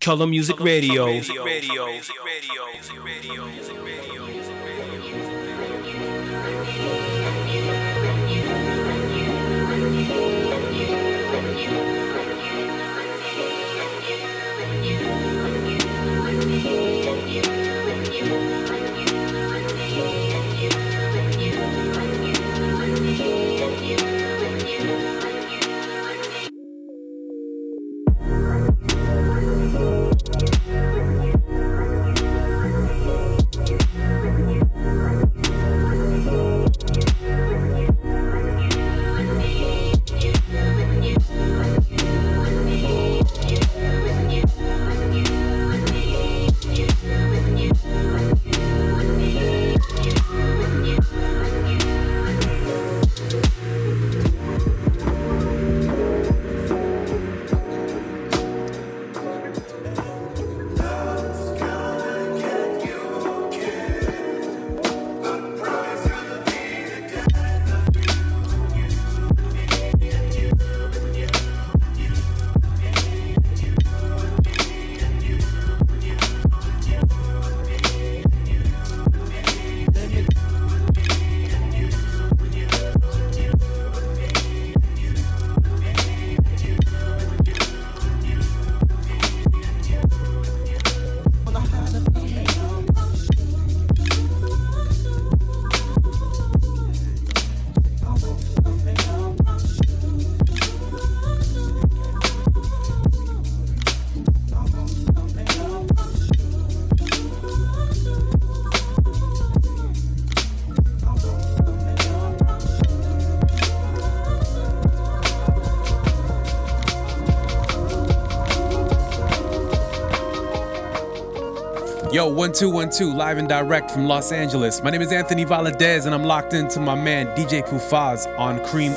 Color Music Radio. Yo, 1212, live and direct from Los Angeles. My name is Anthony Valadez, and I'm locked into my man DJ Kufaz on Cream.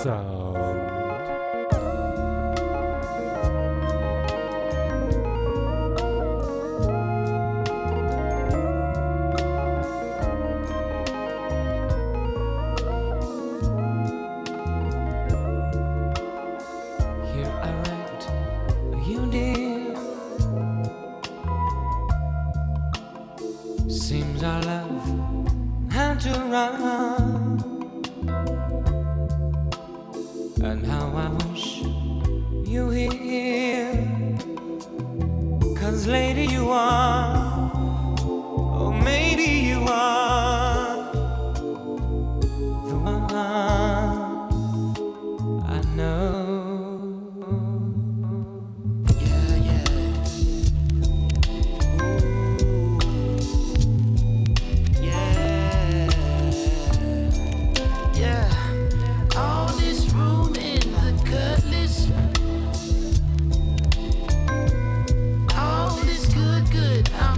All this good, I'm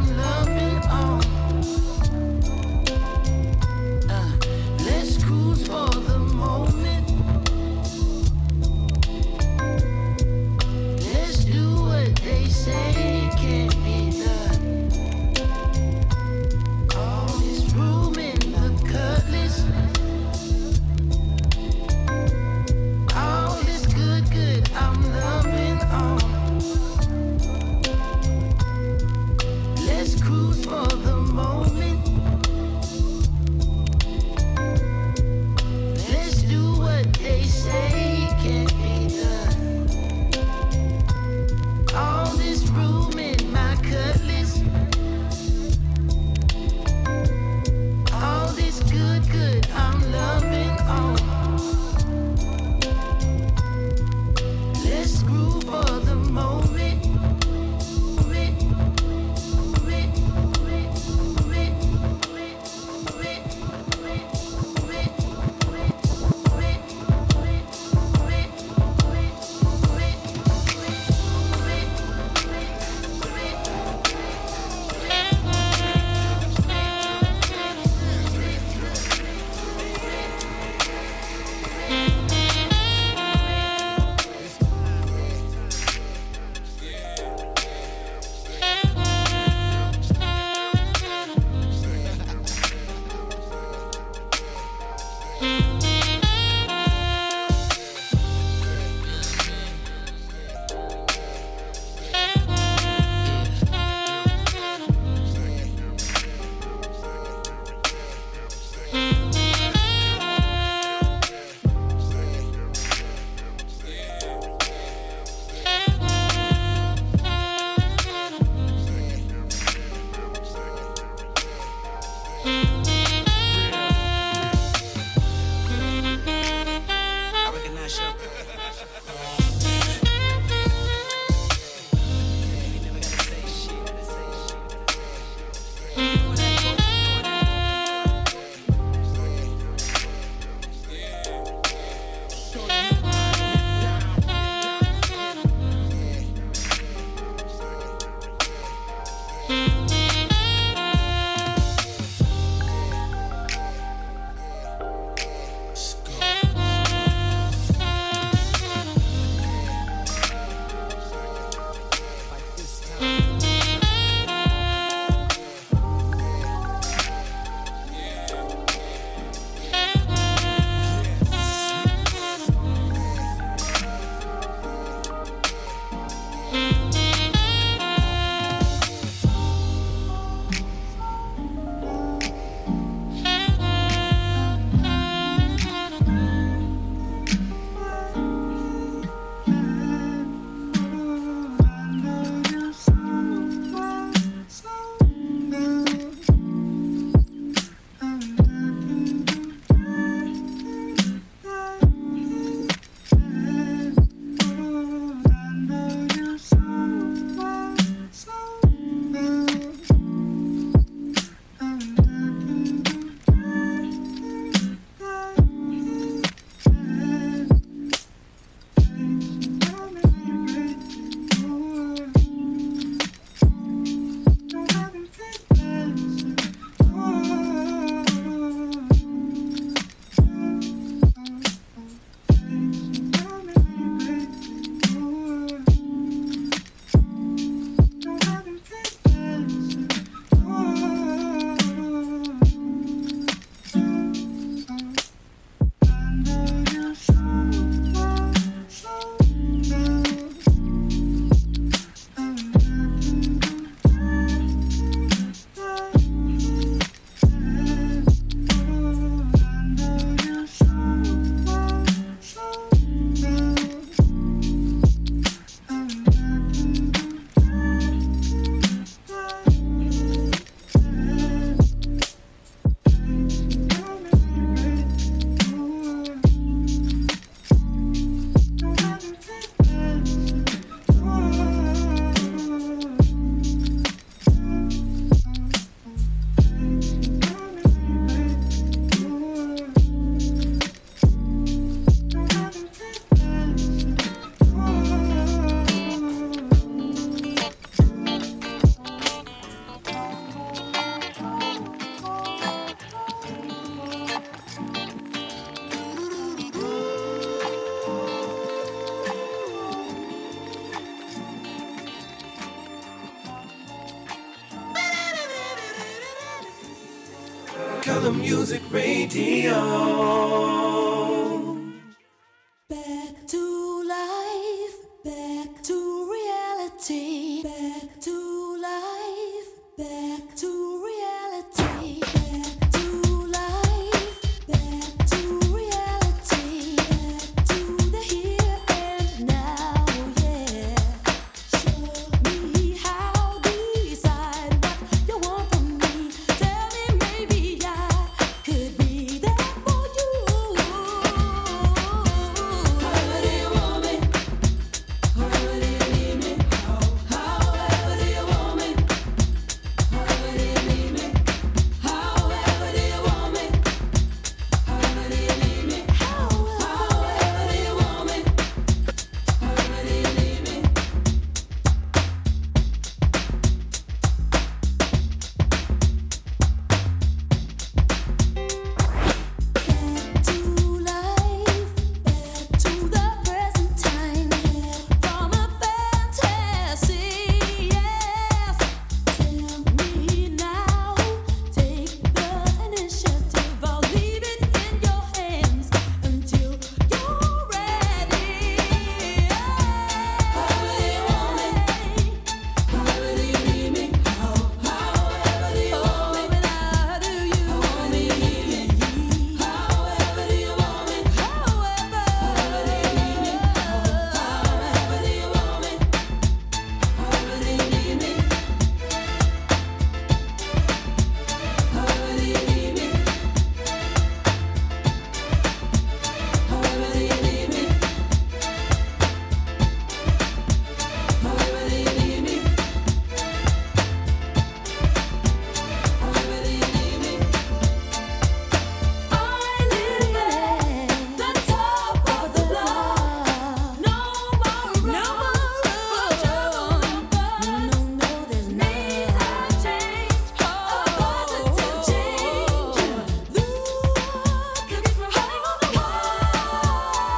Color Music Radio. Back to life, back to reality, back to life, back to reality, back to life, back to reality, back to the here and now, yeah. Show me how, decide what you want from me. Tell me maybe I could be there for you. However do you want me? However do you need me? However do you want me? However do you need me? However do you want me? However do you need me? However do you want me? However do you need me? Back to life, back to the present time, from a fantasy, yes. Tell me now, take the initiative. I'll leave it in your hands until you're ready. However do you want me? However do you need me? However do you want me? How do you want me? However do you want me? However do you need me? However do you want me? However do you need me? However do you need me? However do you need me? However do you need me? However do you need me? I live at the top of the block. No more trouble. No, there's may have changed. A positive change. Look at me hanging on the wall.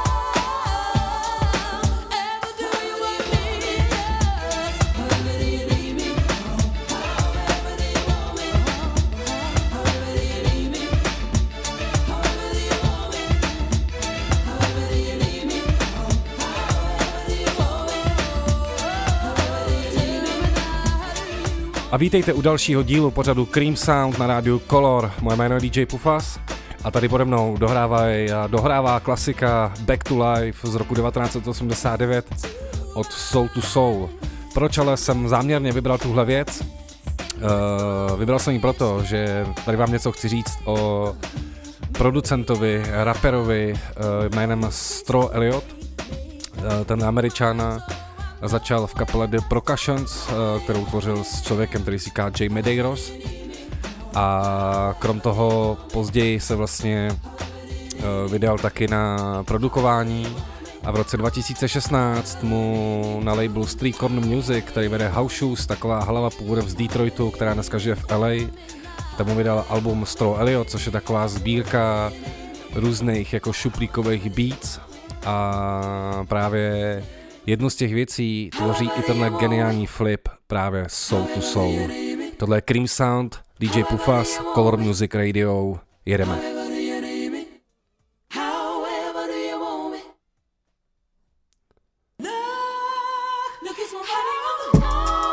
Ever do you want me? Yes. However do you need me? However do you want me? However do you need me? However do you want me? However do you need me? However do you want me? However do you need me? A vítejte u dalšího dílu pořadu Cream Sound na rádiu Color. Moje jméno je DJ Pufas a tady pode mnou dohrává klasika Back to Life z roku 1989 od Soul to Soul. Proč ale jsem záměrně vybral tuhle věc? Vybral jsem ji proto, že tady vám něco chci říct o producentovi, raperovi jménem Stro Elliott. Ten Američan začal v kapele The Percussions, kterou tvořil s člověkem, který si říká Jay Medeiros. A krom toho později se vlastně vydal taky na produkování a v roce 2016 mu na labelu Street Corner Music, který vede House Shoes, taková hlava původem z Detroitu, která dneska žije v LA, tam mu vydal album Stro Elliott, což je taková sbírka různých jako šuplíkových beats a právě jednu z těch věcí tvoří i tenhle geniální flip právě Soul to Soul. Tohle je Cream Sound, DJ Pufas, Color Music Radio, jedeme. However do you want me? Look, it's one hanging on the wall.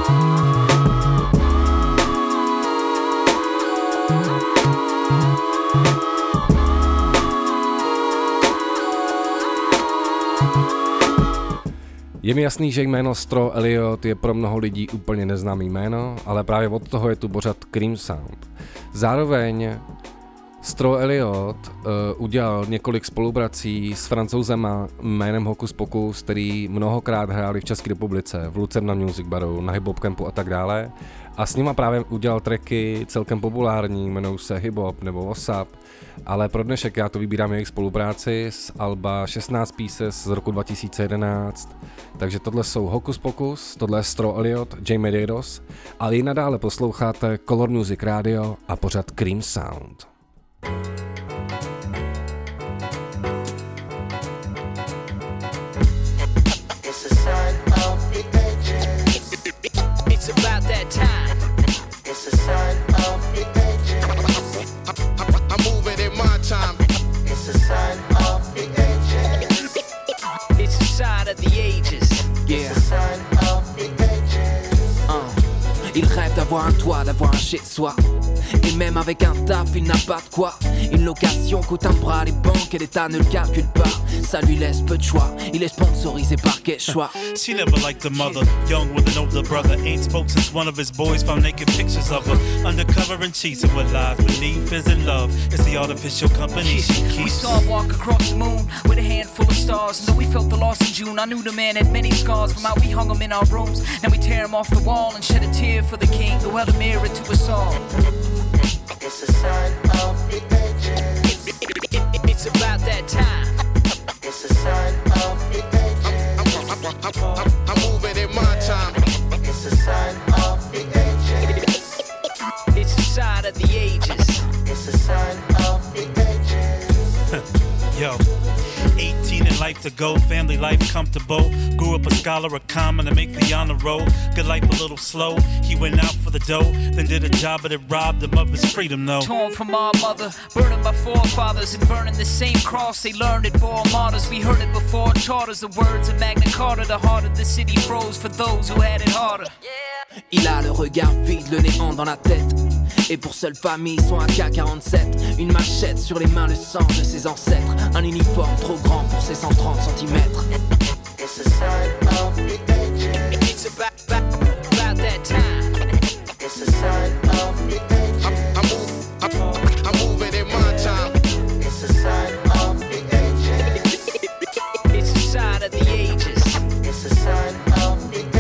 Je mi jasný, že jméno Stro Elliot je pro mnoho lidí úplně neznámý jméno, ale právě od toho je tu pořad Cream Sound. Zároveň Stro Elliot udělal několik spoluprací s Francouzema jménem Hokus Pokus, který mnohokrát hráli v České republice, v Lucerna Music Baru, na Hip Hop Campu a tak dále. A s nima právě udělal tracky celkem populární, jmenují se Hip Hop nebo WhatsApp. Ale pro dnešek já to vybírám jejich spolupráci z alba 16 Pieces z roku 2011. Takže tohle jsou Hokus Pokus, tohle je Stro Elliot, J Medeiros, ale i nadále posloucháte Color Music Radio a pořad Cream Sound. It's about that time. It's a sign of the ages. I'm moving in my time. It's a sign of the ages. It's a sign of the ages. It's a sign of the ages. Il rêve d'avoir un toit, d'avoir un chez-soi. Et même avec un taf, il n'a pas de quoi. Une location coûte un bras, les banques et l'État ne le calculent pas. Ça lui laisse peu de choix, il est sponsorisé par Quechua. She never liked the mother, young with an older brother. Ain't spoke since one of his boys found naked pictures of her. Undercover and cheating with lies beneath is in love. It's the artificial company she keeps. We saw him walk across the moon with a handful of stars. And though we felt the loss in June, I knew the man had many scars. From how we hung him in our rooms, now we tear him off the wall and shed a tear for the king who held a mirror to us all. It's a sign of the ages. It's about that time. It's a sign of the ages. I'm moving in my time. It's a sign of the ages. It's a sign of the ages. It's a sign of the ages. Yo, 18 in life to go, family life comfortable. Grew up a scholar of common to make the honor roll. Good life a little slow, he went out for the dough. Then did a job but it robbed him of his freedom, no. Torn from our mother, burning by forefathers and burning the same cross they learned at Bore Martyrs. We heard it before charters, the words of Magna Carta. The heart of the city froze for those who had it harder. Il a le regard vide, le néant dans la tête. Et pour seule famille, son AK-47. Une machette sur les mains, le sang de ses ancêtres. Un uniforme trop grand pour ses 130 cm. It's a sign of the ages. It's about that time. It's a sign of the ages. I'm moving in my time. It's a sign of the ages. It's a sign of the ages. It's a sign of the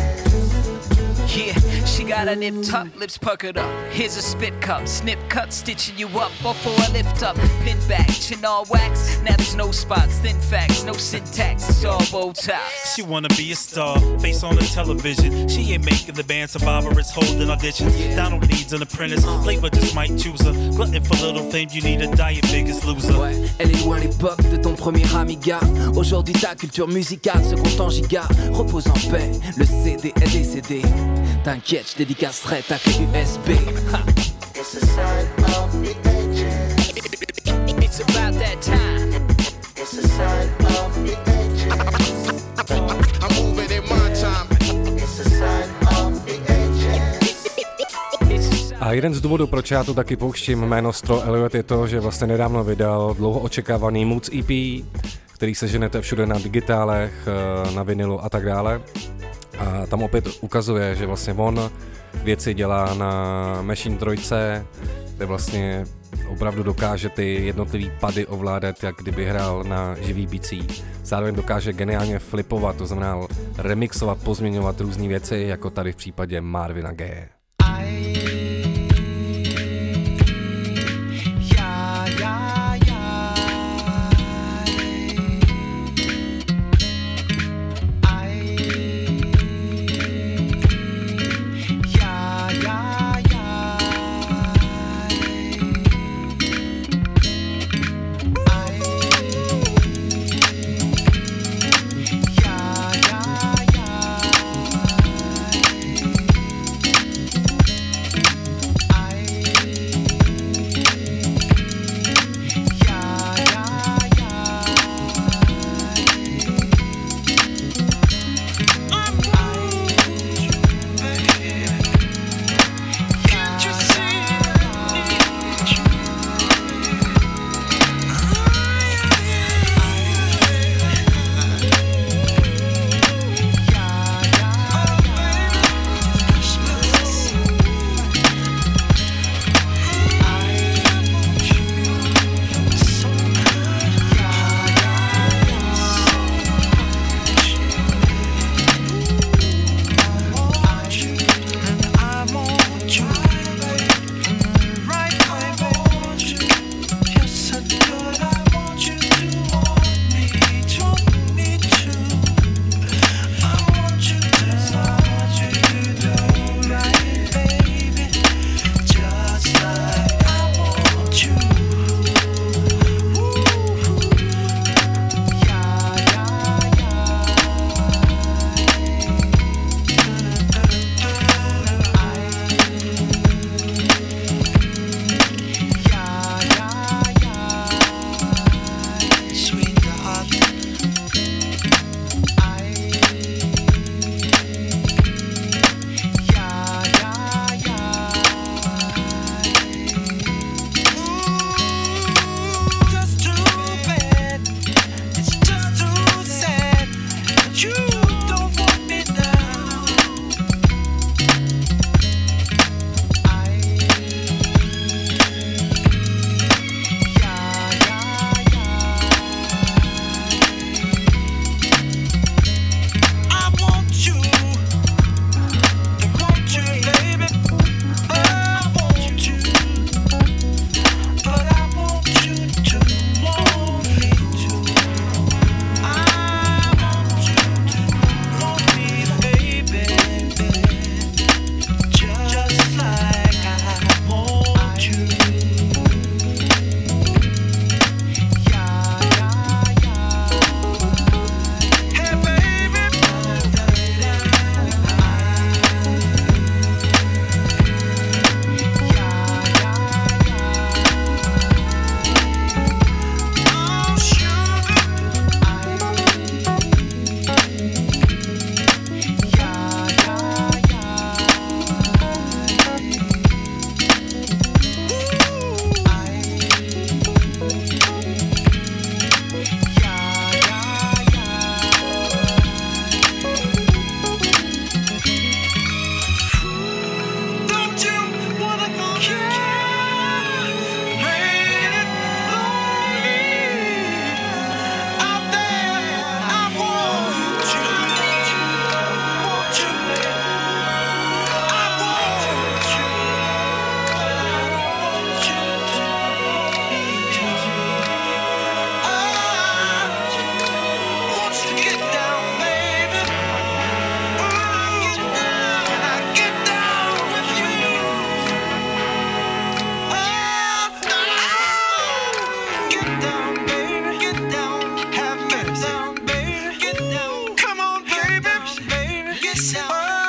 ages. Yeah, she got her nip tucked, lips puckered up. Here's a spit cup, snip cut, stitching you up before I lift up. Pin back, chin all wax. Now there's no spots, thin facts, no syntax. It's all bow ties. She wanna be a star, face on the television. She ain't making the band survivor, it's holding auditions. Donald needs an apprentice, Flavor just might choose her. Glutton for little fame, you need a diet, biggest loser. Ouais, elle est loin l'époque de ton premier amiga. Aujourd'hui ta culture musicale se compte en giga. Repose en paix, le CD est décédé. T'inquiète, je dédicacerai ta clé USB. Ha. It's a sign of the ages. It's about that time. It's a sign of the ages. I'm moving in my time. It's a sign of the ages. It's a A jeden z důvodů, proč já tu taky pouštím jméno Stro Elliot, je to, že vlastně nedávno vydal dlouho očekávaný Moods EP, který seženete všude na digitálech, na vinilu a tak dále. A tam opět ukazuje, že vlastně on věci dělá na Machine 3, kde vlastně opravdu dokáže ty jednotlivý pady ovládat, jak kdyby hrál na živý bicí. Zároveň dokáže geniálně flipovat, to znamená remixovat, pozměňovat různé věci, jako tady v případě Marvina Gaye.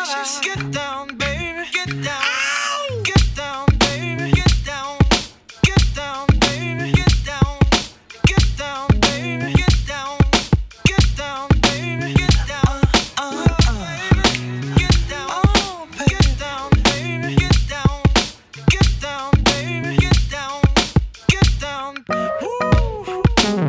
bitches. Get down, baby. Get down. Ow! Get down, baby. Get down. Get down, baby. Get down. Get down, baby. Get down. Get down, baby. Get down. Baby. Get down. Get down, baby. Get down. Get down, baby. Get down. Get down. Woo.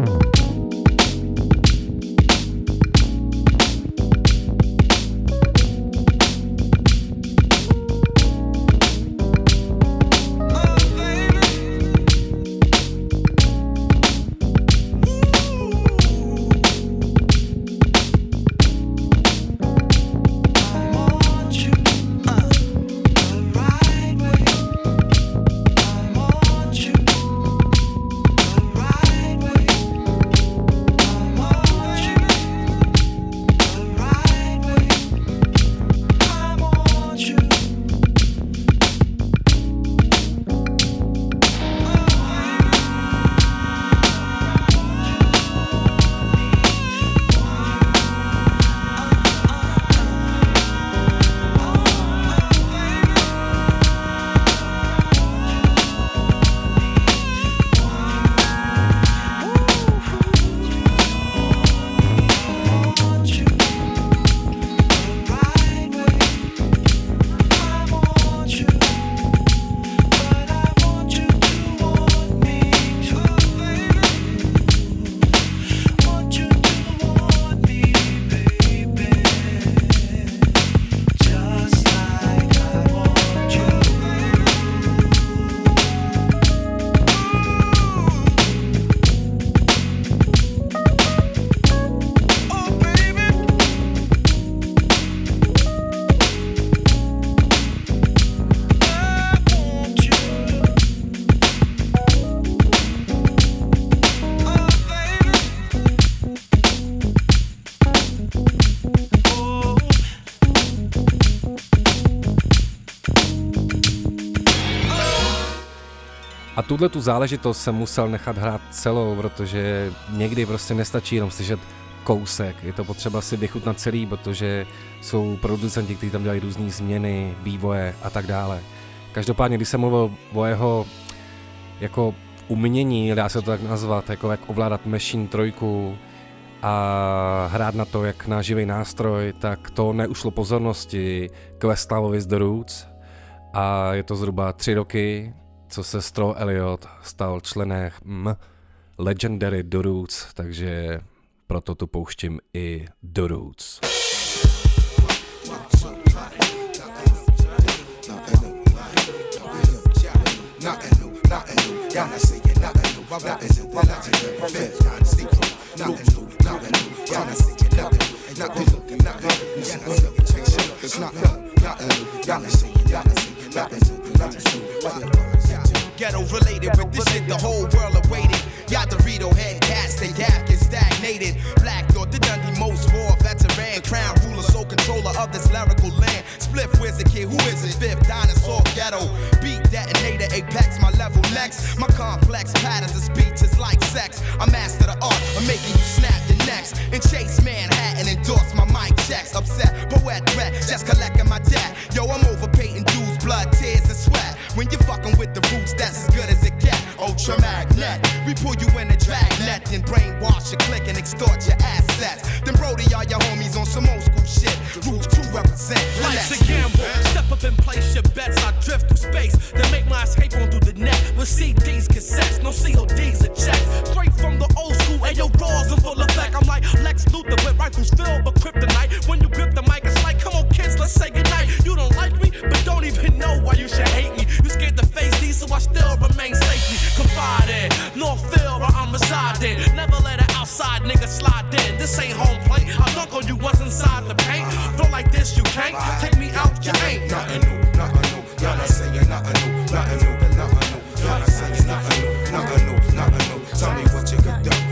A tuhle tu záležitost jsem musel nechat hrát celou, protože někdy prostě nestačí jenom slyšet kousek. Je to potřeba si vychutnat celý, protože jsou producenti, kteří tam dělají různé změny, vývoje a tak dále. Každopádně, když jsem mluvil o jeho jako umění, dá se to tak nazvat, jako jak ovládat Machine 3 a hrát na to jak na živý nástroj, tak to neušlo pozornosti Questlovovi z The Roots a je to zhruba 3 roky, co se Straw Elliott stal členem Legendary The Roots, takže proto tu pouštím i The Roots. Ghetto related with this shit the whole world awaited. Y'all Dorito head cats, they yapping stagnated. Black Thought, the Dundee most war veteran, crown ruler, sole controller of this lyrical land. Spliff, where's the kid? Who is it? Fifth dinosaur ghetto. Beat detonator, apex, my level next. My complex patterns of speech is like sex. I master the art of making you snap the necks. And chase Manhattan, endorse my mic checks. Upset, poet threat, just collecting my debt. Yo, I'm overpaying dues, blood, tears, and sweat. When you're fucking with the roots, that's as good as it gets. Ultra magnet, we pull you in a dragnet, then brainwash your click and extort your assets. Then Brody, all your homies on some old school shit. Roots to represent. Life's a gamble. Step up and place your bets. I drift through space, then make my escape on through the net with CDs, cassettes, no CODs or checks. Straight from the old school, ayo, raws in full effect. I'm like Lex Luthor with rifles filled with kryptonite. When you grip the mic, it's like, come on, kids, let's say goodnight. You don't like me, but don't even know why you should hate me. You scared to face these, so I still remain safely confided. Northfield, where I'm residing. Never let an outside nigga slide in. This ain't home plate. I dunk on you once inside the paint. Flow like this, you can't take me out, you ain't. Nothing new, nothing new. Y'all not saying nothing new, nothing new, nothing new. Y'all not saying nothing new, nothing new, nothing new. Tell me what you could do.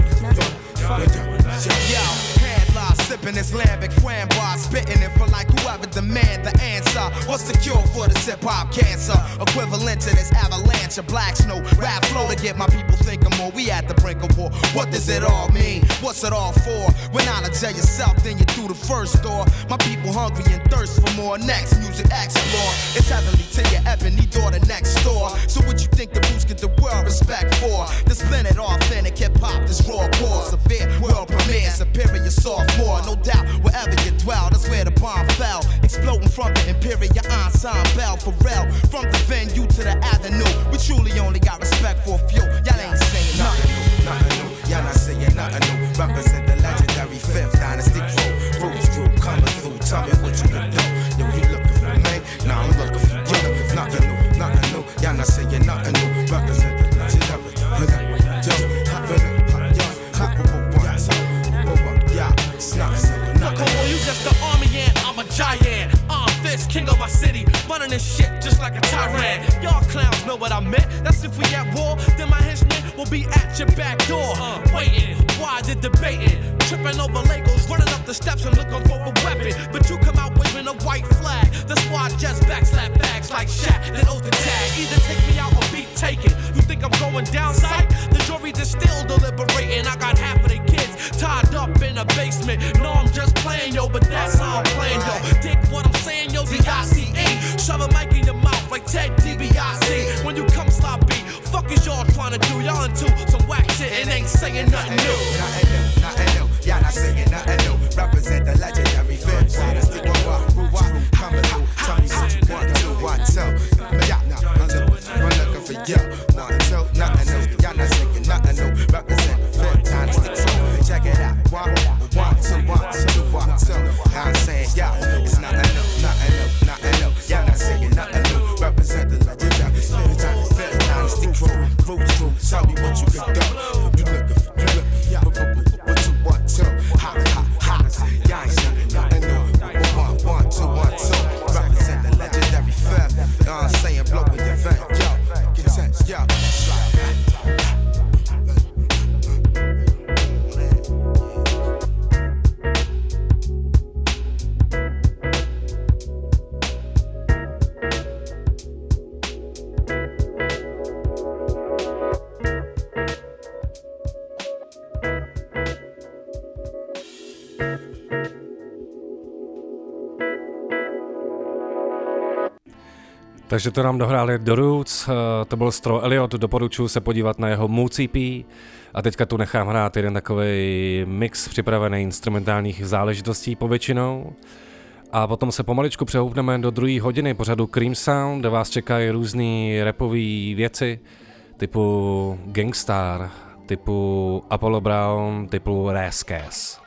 Yo, headline sipping this lambic framboise, spitting it for like whoever Whoever demand the answer, what's the cure for this hip-hop cancer? Equivalent to this avalanche of black snow. Rap flow to get my people thinking more. We at the brink of war. What does it all mean? What's it all for? When knowledge of yourself, then you through the first door. My people hungry and thirst for more. Next music explore. It's heavenly to your ebony daughter next door. So what you think the roots get the world respect for? This blended authentic hip-hop, this raw core. Severe world premiere, superior sophomore. No doubt, wherever you dwell, that's where the bomb fell. Exploding from the imperial ensemble. For real, from the venue to the avenue. We truly only got respect for a few. Y'all ain't saying nothing new, nothing new. Y'all not saying nothing new. Represent the legendary fifth dynasty crew. Roots crew coming through. Tell me what you can do. Yo, you looking for me? Nah, I'm looking for you. Nothing new, nothing new. Y'all not saying nothing new. Represent the legendary Come on, you just the army ant, I'm a giant. Fist, king of my city, running this shit just like a tyrant. Y'all clowns know what I meant. That's if we at war, then my henchmen will be at your back door. Waiting, why the debating? Tripping over Legos, running up the steps and looking for a weapon. But you come out waving a white flag. The squad just backslap bags like Shaq, then oath the tag. Either take me out or be taken. You think I'm going down sight? The jury's is still deliberating. I got half of the kids tied up in a basement. No, I'm just playing, yo, but that's how I'm playing, yo. Dig what I'm saying, yo, D-I-C-E. Shove a mic in your mouth like Ted DiBiase. When you come sloppy, fuck is y'all trying to do? Y'all into some whack shit and ain't saying nothing new. Nothing new, nothing new. Y'all not saying nothing new. Represent the legendary fifth dynasty crew. Coming through. Tell me what you want to, what to. Y'all not, I'm looking for you. Nothing new, nothing new. Y'all not saying nothing new. Represent the fifth dynasty crew. Check it out. One, two. I'm saying, yo, it's nothing new, nothing new, nothing new. Y'all not saying nothing new. Represent the legendary fifth dynasty crew. Roots crew, tell me what you can do. You looking for, what you want to. Ha. Y'all ain't saying nothing new. One, two. Represent the legendary fifth. You know what I'm saying? Blow with your vent, yo. Get tense, yo. Takže to nám dohráli The Roots, to byl Stro Elliot, doporučuji se podívat na jeho Moods EP a teďka tu nechám hrát jeden takovej mix připravený instrumentálních záležitostí povětšinou a potom se pomaličku přehoupneme do druhé hodiny pořadu Cream Sound, kde vás čekají různý rapový věci typu Gangstar, typu Apollo Brown, typu Rascas.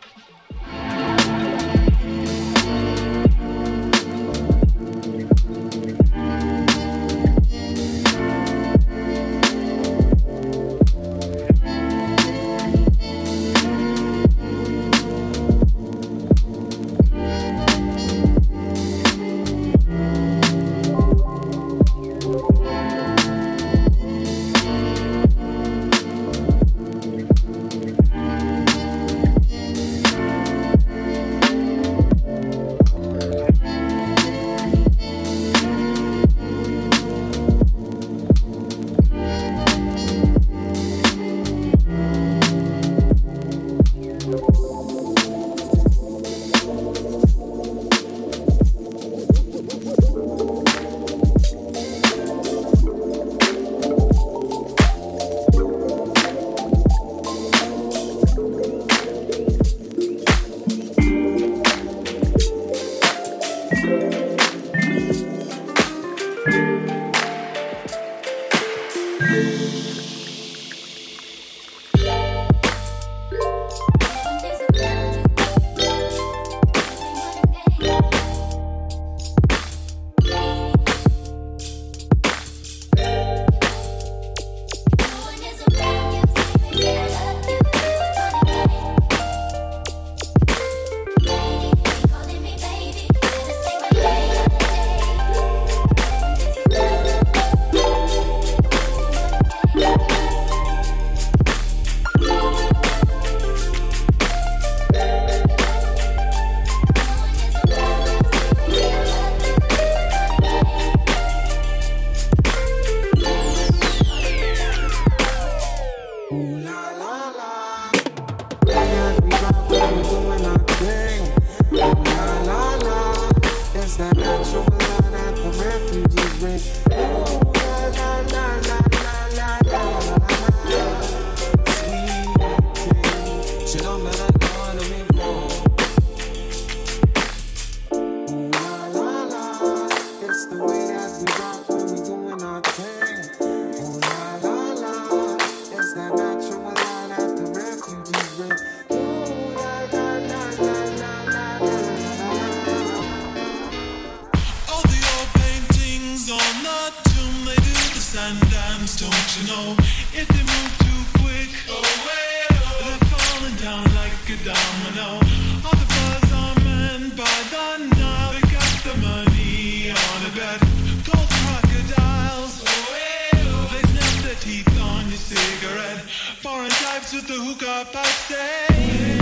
It's that natural blood that the refugees bring. Ooh, la la la la la la la. Sweet tea, she don't let her go to me for. Ooh, la la la, it's the way that we rock when we doing our thing. Ooh, la la la, it's that natural blood that the refugees bring. Ooh, la la la la la la la. All the old paintings on the tomb, they do the sun dance, don't you know? If they move too quick, they're falling down like a domino. All the buzz are men by the Nile, they got the money on a bet. Gold crocodiles, they snap their teeth on your cigarette. Foreign types with the hookah pipe say.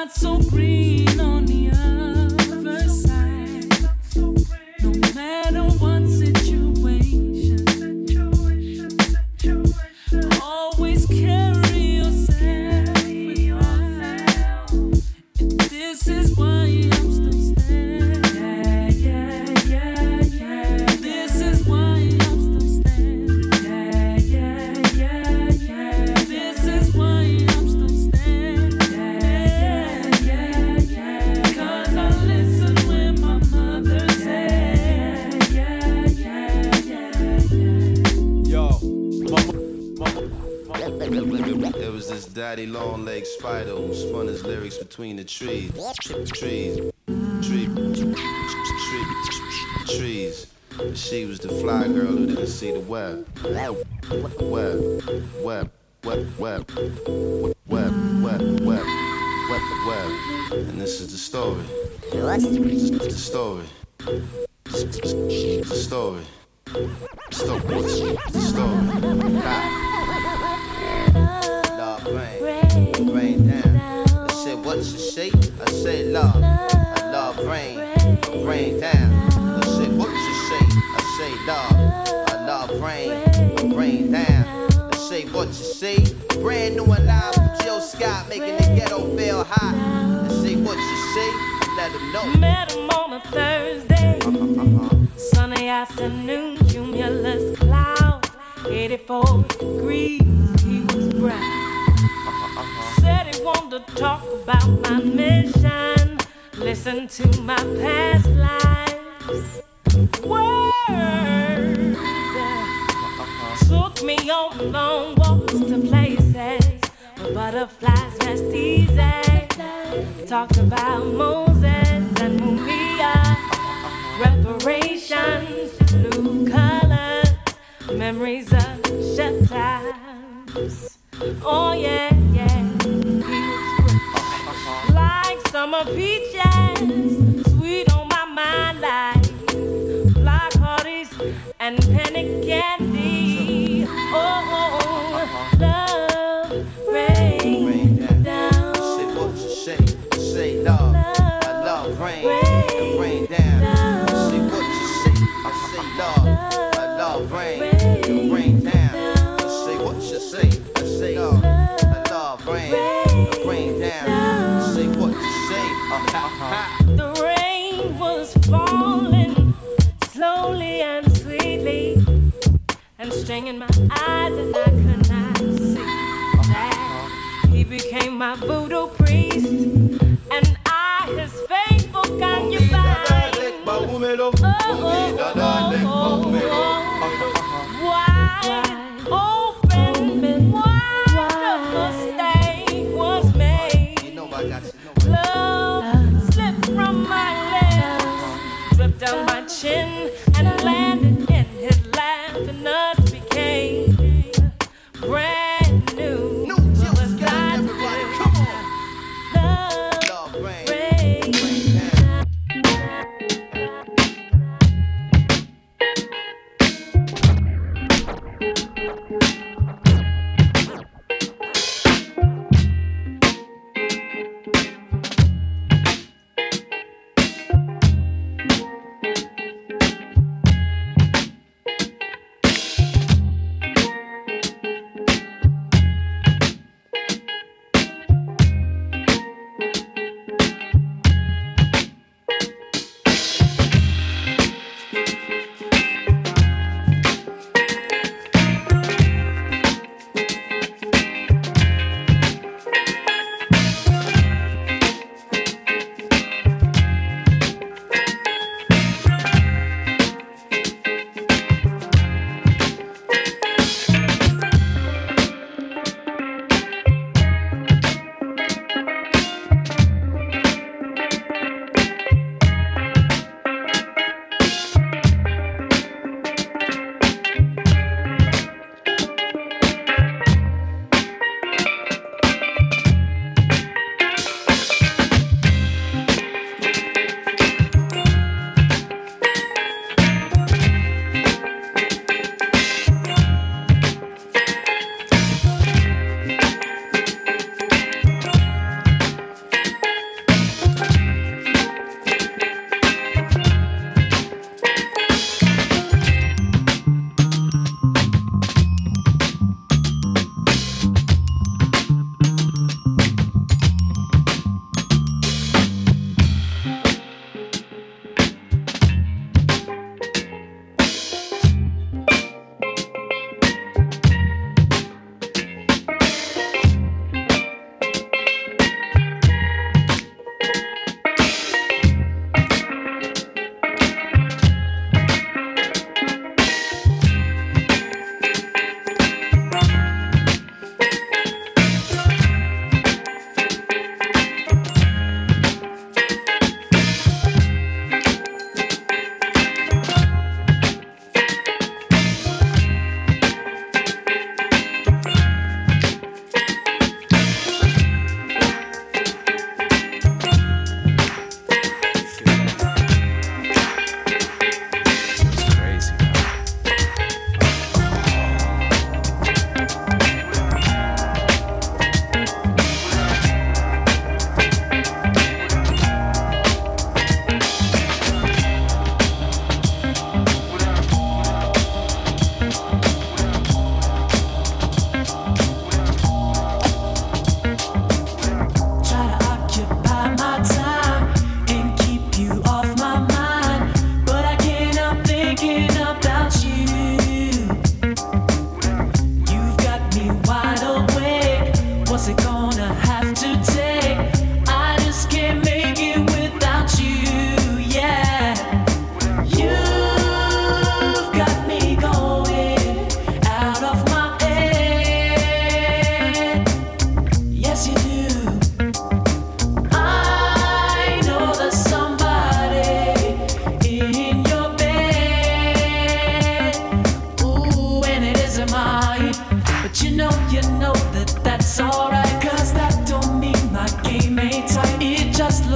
not so green on the other side. No matter what situation, always carry yourself with pride. And this is why I'm still standing. This is why I'm still standing. This is why I'm still standing. 'Cause I listen when my mother said. Yo, it was this daddy long leg spider who spun his lyrics between the trees. Trees. She was the fly girl who didn't see the web. Web. And this is the story. The story. The story. The story. Love rain down. I said, what's the shape? I said, love. I love rain down. I said, what's the shape? I say, love. I love rain down. I say, what you say? Brand new and live from Jill Scott, making the ghetto feel hot. I say, what you say? Let them know. Met him on a Thursday, sunny afternoon, cumulus cloud, 84 degrees, he was brown. Said he wanted to talk about my mission, listen to my past lives. Word took me on long walks to places where butterflies rest easy. Talked about Moses and Mumia, reparations, blue colors, memories of shut times. Oh yeah, he was like summer peaches, sweet on my mind like black hearties and penny candy. Oh, love rain down. Say what you say. Say love. I love rain down. Say what you say. I say love. I love rain down. Say what you say. I say love. I love rain down. Say what you say. The rain was falling slowly and sweetly, and stringing my eyes, and I could not see that he became my voodoo priest, and I, his faithful concubine. Wide open, wonderful mistake was made. Love slipped from my lips, dripped down my chin, and landed in his lap, and us became brand new. What was I doing? Love rain.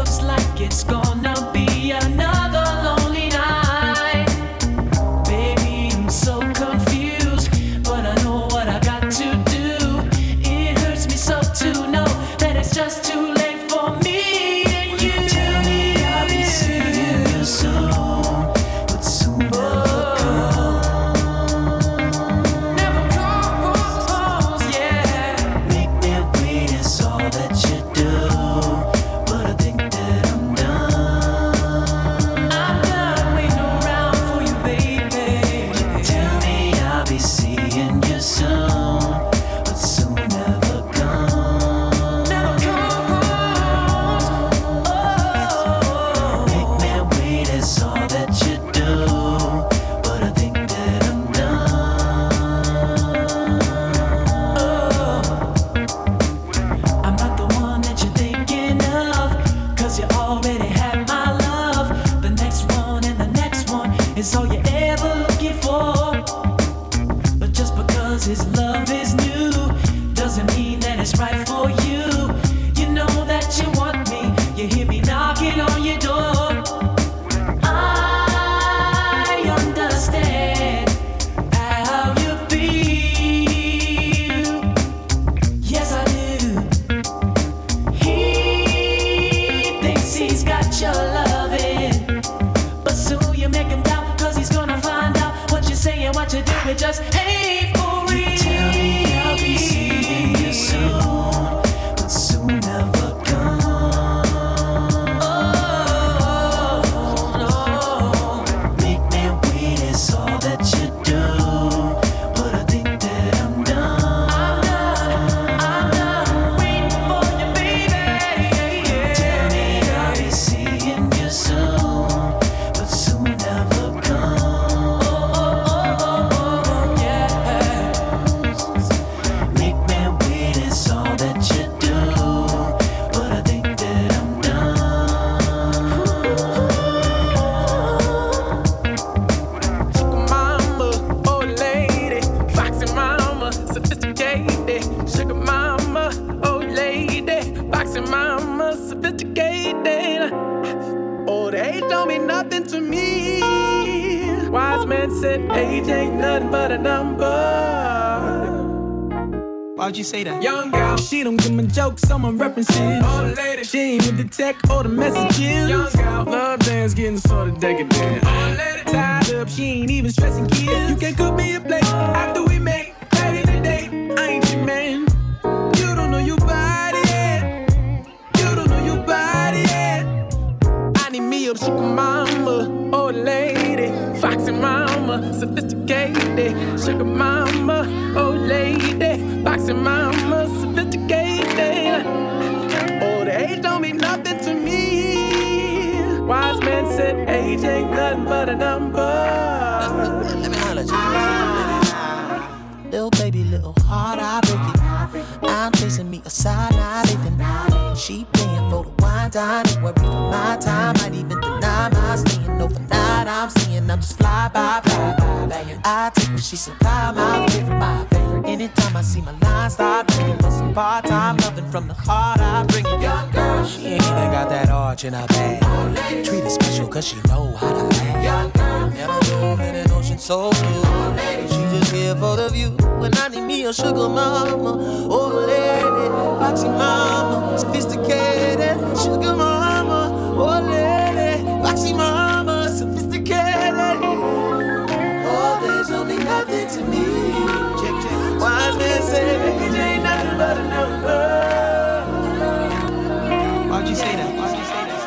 looks like it's gonna be another lonely night. Baby, I'm so confused, but I know what I got to do. It hurts me so to know that it's just too late for me and you. Tell me I'll be seeing you soon, but soon never comes, yeah. Make me wait is all that you do, but I think that I'm done. I'm done waiting around for you, baby. Tell me I'll be seeing you soon, but soon never comes. Never comes. Oh, make me wait is all that you do, but I think that I'm done. Oh, I'm not the one that you're thinking of, 'cause you already have my love. The next one and the next one is all you're ever looking for. But just because his love is new doesn't mean that it's right for you. You know that you want me, you hear me knocking on your door. I understand how you feel. Yes, I do. He thinks he's got your loving, but soon you make him doubt, 'cause he's gonna find out what you say and what you do, it just ain't for real. Tell me I'll be seeing you soon, but soon never comes. Oh, no. Make me wait is all that you do, but I think that I'm done. I'm done waiting for you, baby. Tell me I'll be seeing you soon, but soon never comes. Yeah. Make me wait is all that you do, but I think that I'm done. Mama, old lady, foxy mama, sophisticated. Sugar mama, old lady, foxy mama, sophisticated. Old age don't mean nothing to me. Wise man said age ain't nothing but a number. Why'd you say that? Young girl, she don't give me jokes, someone references. Old lady, she ain't with the tech or the messages. Young girl, love dance getting sort of decadent. Old lady, tied up, she ain't even stressing kids. You can cook me a plate after we make back in the day. I ain't your man. You don't know your body yet. You don't know your body yet. I need me a sugar mama, old lady, foxy mama, sophisticated. Sugar mama, old lady, foxy mama, sophisticated. Old age don't mean nothing to me. Wise man said age ain't nothing but a number. Let me holler at you. Little baby, little heart, I break it. I'm chasing me a side, not even. She paying for the wine, dining, worry for my time. Might even deny my staying overnight. I'm seeing I'm just fly by, banging. I take what she supply, my favorite. Anytime I see my line start ringing, for some part-time loving from the heart, I bring it. Young girl, she ain't even got that arch in her bag. Treat her special 'cause she know how to act. Young girl, never move in an ocean so blue. She just here for the view. When I need me a sugar mama, old lady, foxy mama, sophisticated. Sugar mama, old lady, foxy mama, sophisticated. All this don't mean nothing to me. Wise man say age ain't nothing but a number. Why'd you say that? Why'd you say that?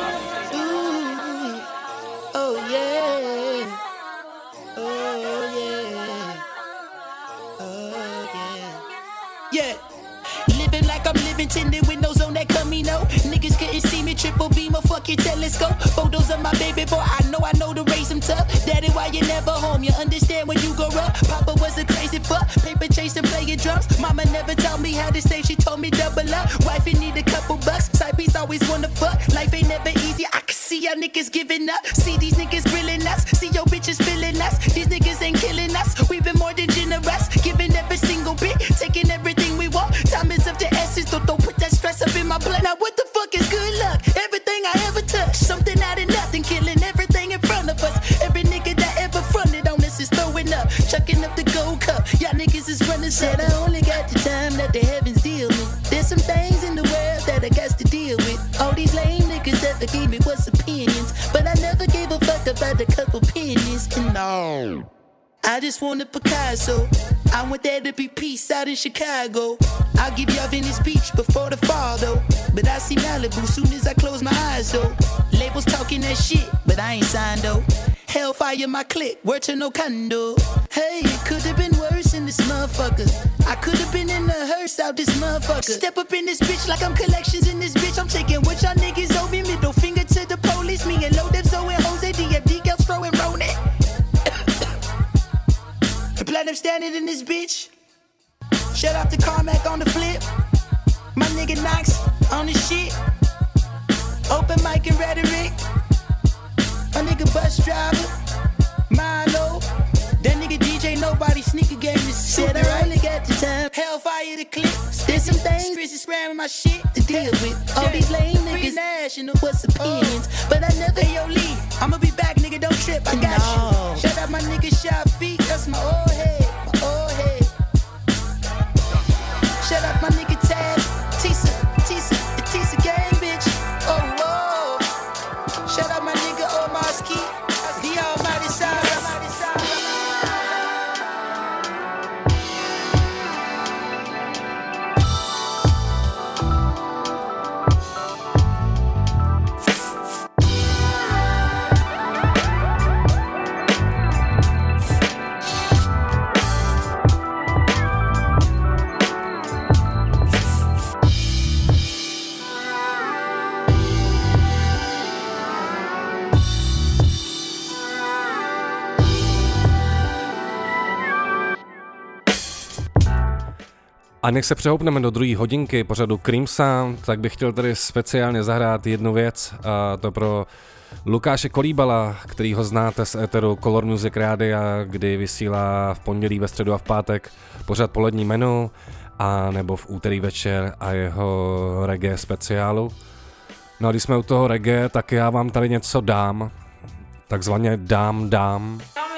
Ooh, oh yeah, oh yeah, oh yeah, yeah. Living like I'm living, tinted windows on that Camino. Niggas couldn't see me, triple beam a fucking telescope. Photos of my baby boy, I know to raise him tough. Daddy, why you never home? You understand when you grow up. Papa was a crazy fuck, paper chasing, playing drums. Mama never taught me how to save, she told me double up. Wifey need a couple bucks, side piece always wanna fuck. Life ain't never easy, I can see y'all niggas giving up. See these niggas grilling us, see your bitches feeling us. These niggas ain't killing us, we've been more than generous. Giving every single bit, taking everything we want. Time is of the essence, don't put that stress up in my blood. Now what the fuck is good luck? Everything I ever Y'all niggas is running, said I only got the time that the heavens deal me. There's some things in the world that I got to deal with. All these lame niggas that forgave me was opinions, but I never gave a fuck about a couple pennies. And no, I just want a Picasso. I want there to be peace out in Chicago. I'll give y'all Venice Beach before the fall though, but I see Malibu soon as I close my eyes though. Labels talking that shit, but I ain't signed though. Hellfire my clique, word to no condo. Hey, it could have been worse in this motherfucker. I could have been in the hearse out this motherfucker. Step up in this bitch like I'm collections in this bitch. I'm taking what y'all niggas owe me. Middle finger to the police. Me and Low Dev, Zoe and Jose, DFD, Gelstro and Ronan. The platinum standing in this bitch. Shout out to Carmack on the flip. My nigga Knox on the shit. Open mic and rhetoric. My nigga bus driver, Milo. That nigga DJ Nobody sneaker game is said I only got the time. Hellfire the clip. There's some things Chris is spamming my shit to deal with. All these lame niggas national what's opinions, but I never yo Lee. I'ma be back, nigga. Don't trip. I got you. Shout out my nigga Shot Feet. That's my old head. My old head. Shout out my nigga Taz. Tisa. The Tisa gang bitch. Oh whoa. Shout out my nigga Omar Ski. The almighty side. A než se přehoupneme do druhé hodinky pořadu Cream Sound, tak bych chtěl tady speciálně zahrát jednu věc, a to pro Lukáše Kolíbala, který ho znáte z éteru Color Music Rádia, kdy vysílá v pondělí, ve středu a v pátek pořad Polední menu, a nebo v úterý večer a jeho reggae speciálu. No a když jsme u toho reggae, tak já vám tady něco dám, takzvaně dám.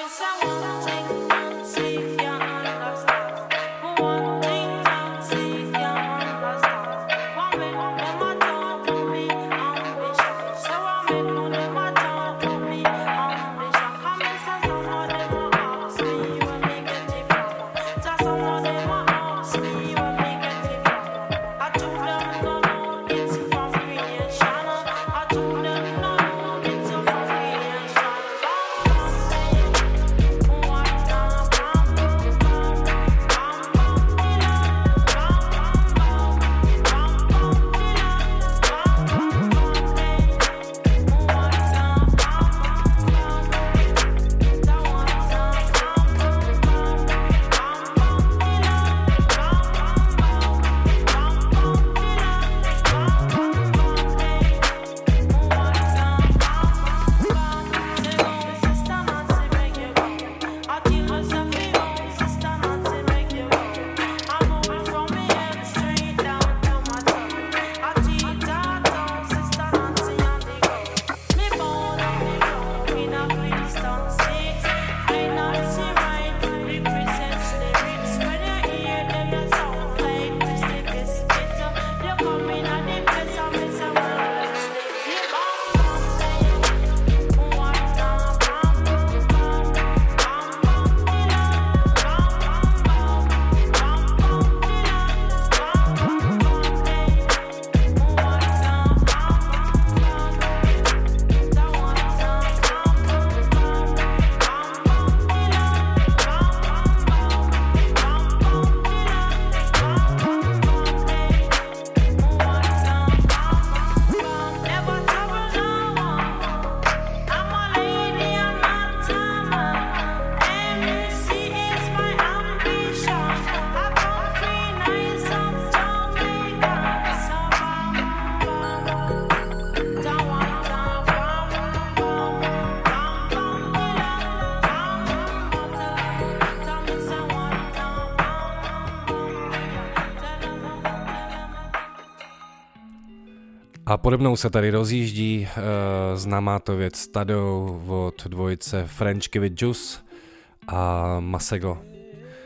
A pode mnou se tady rozjíždí známá to věc Stadou od dvojice French Give It Juice a Masego.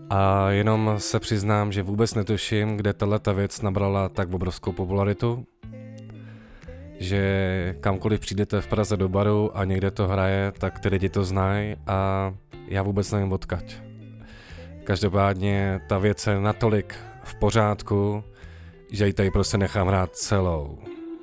A jenom se přiznám, že vůbec netuším, kde tato věc nabrala tak obrovskou popularitu, že kamkoliv přijdete v Praze do baru a někde to hraje, tak ty lidi to znají a já vůbec nevím odkaď. Každopádně ta věc je natolik v pořádku, že ji tady prostě nechám hrát celou.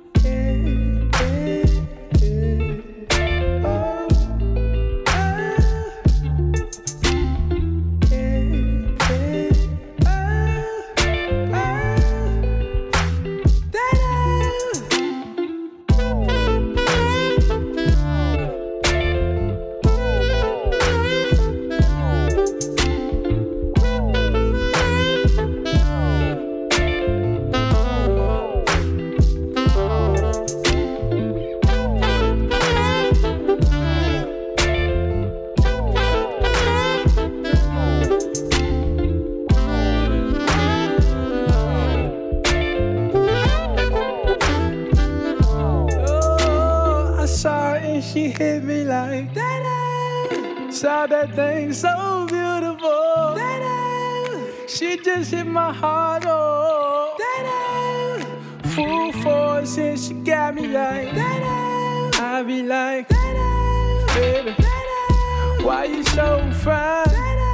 She hit me like that. Saw that thing so beautiful. She just hit my heart, oh. Full force and she got me like I be like, baby, why you so fine?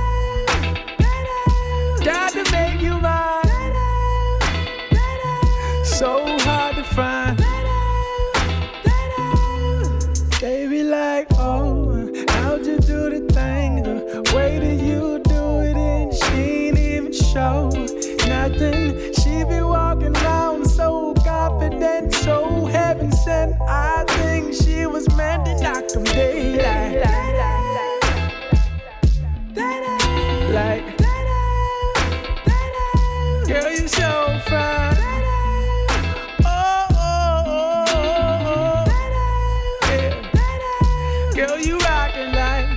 Got to make you mine. So hard to find. They be like, oh, how'd you do the thing? The way that you do it and she ain't even show nothing. She be walking around so confident, so heaven sent. I think she was meant to knock them daylight. Like, girl, you so fine. Girl, you rockin' like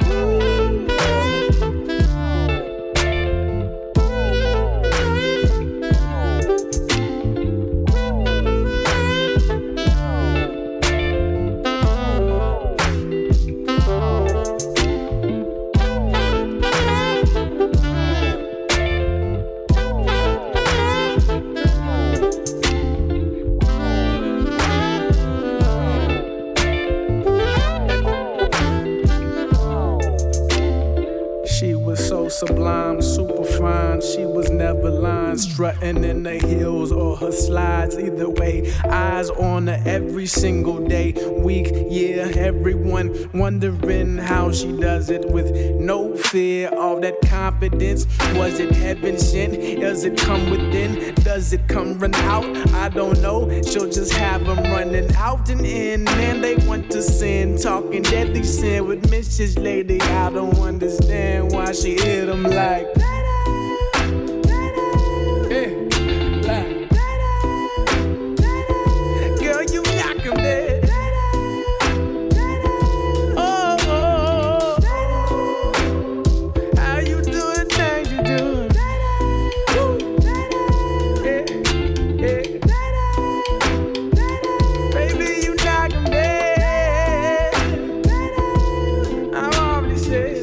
sublime, super fine. She was never lying, strutting in the heels or her slides. Either way, eyes on her every single day, week, year. Everyone wondering how she does it with no fear. All that confidence, was it heaven sent? Does it come within? Does it come run out? I don't know. She'll just have them running out and in, and they want to sin, talking deadly sin with Mrs. Lady. I don't understand why she hit them like girl, you knock him dead. Oh, oh, oh. How you do the things you do? Baby, you knock him dead. I'm already said.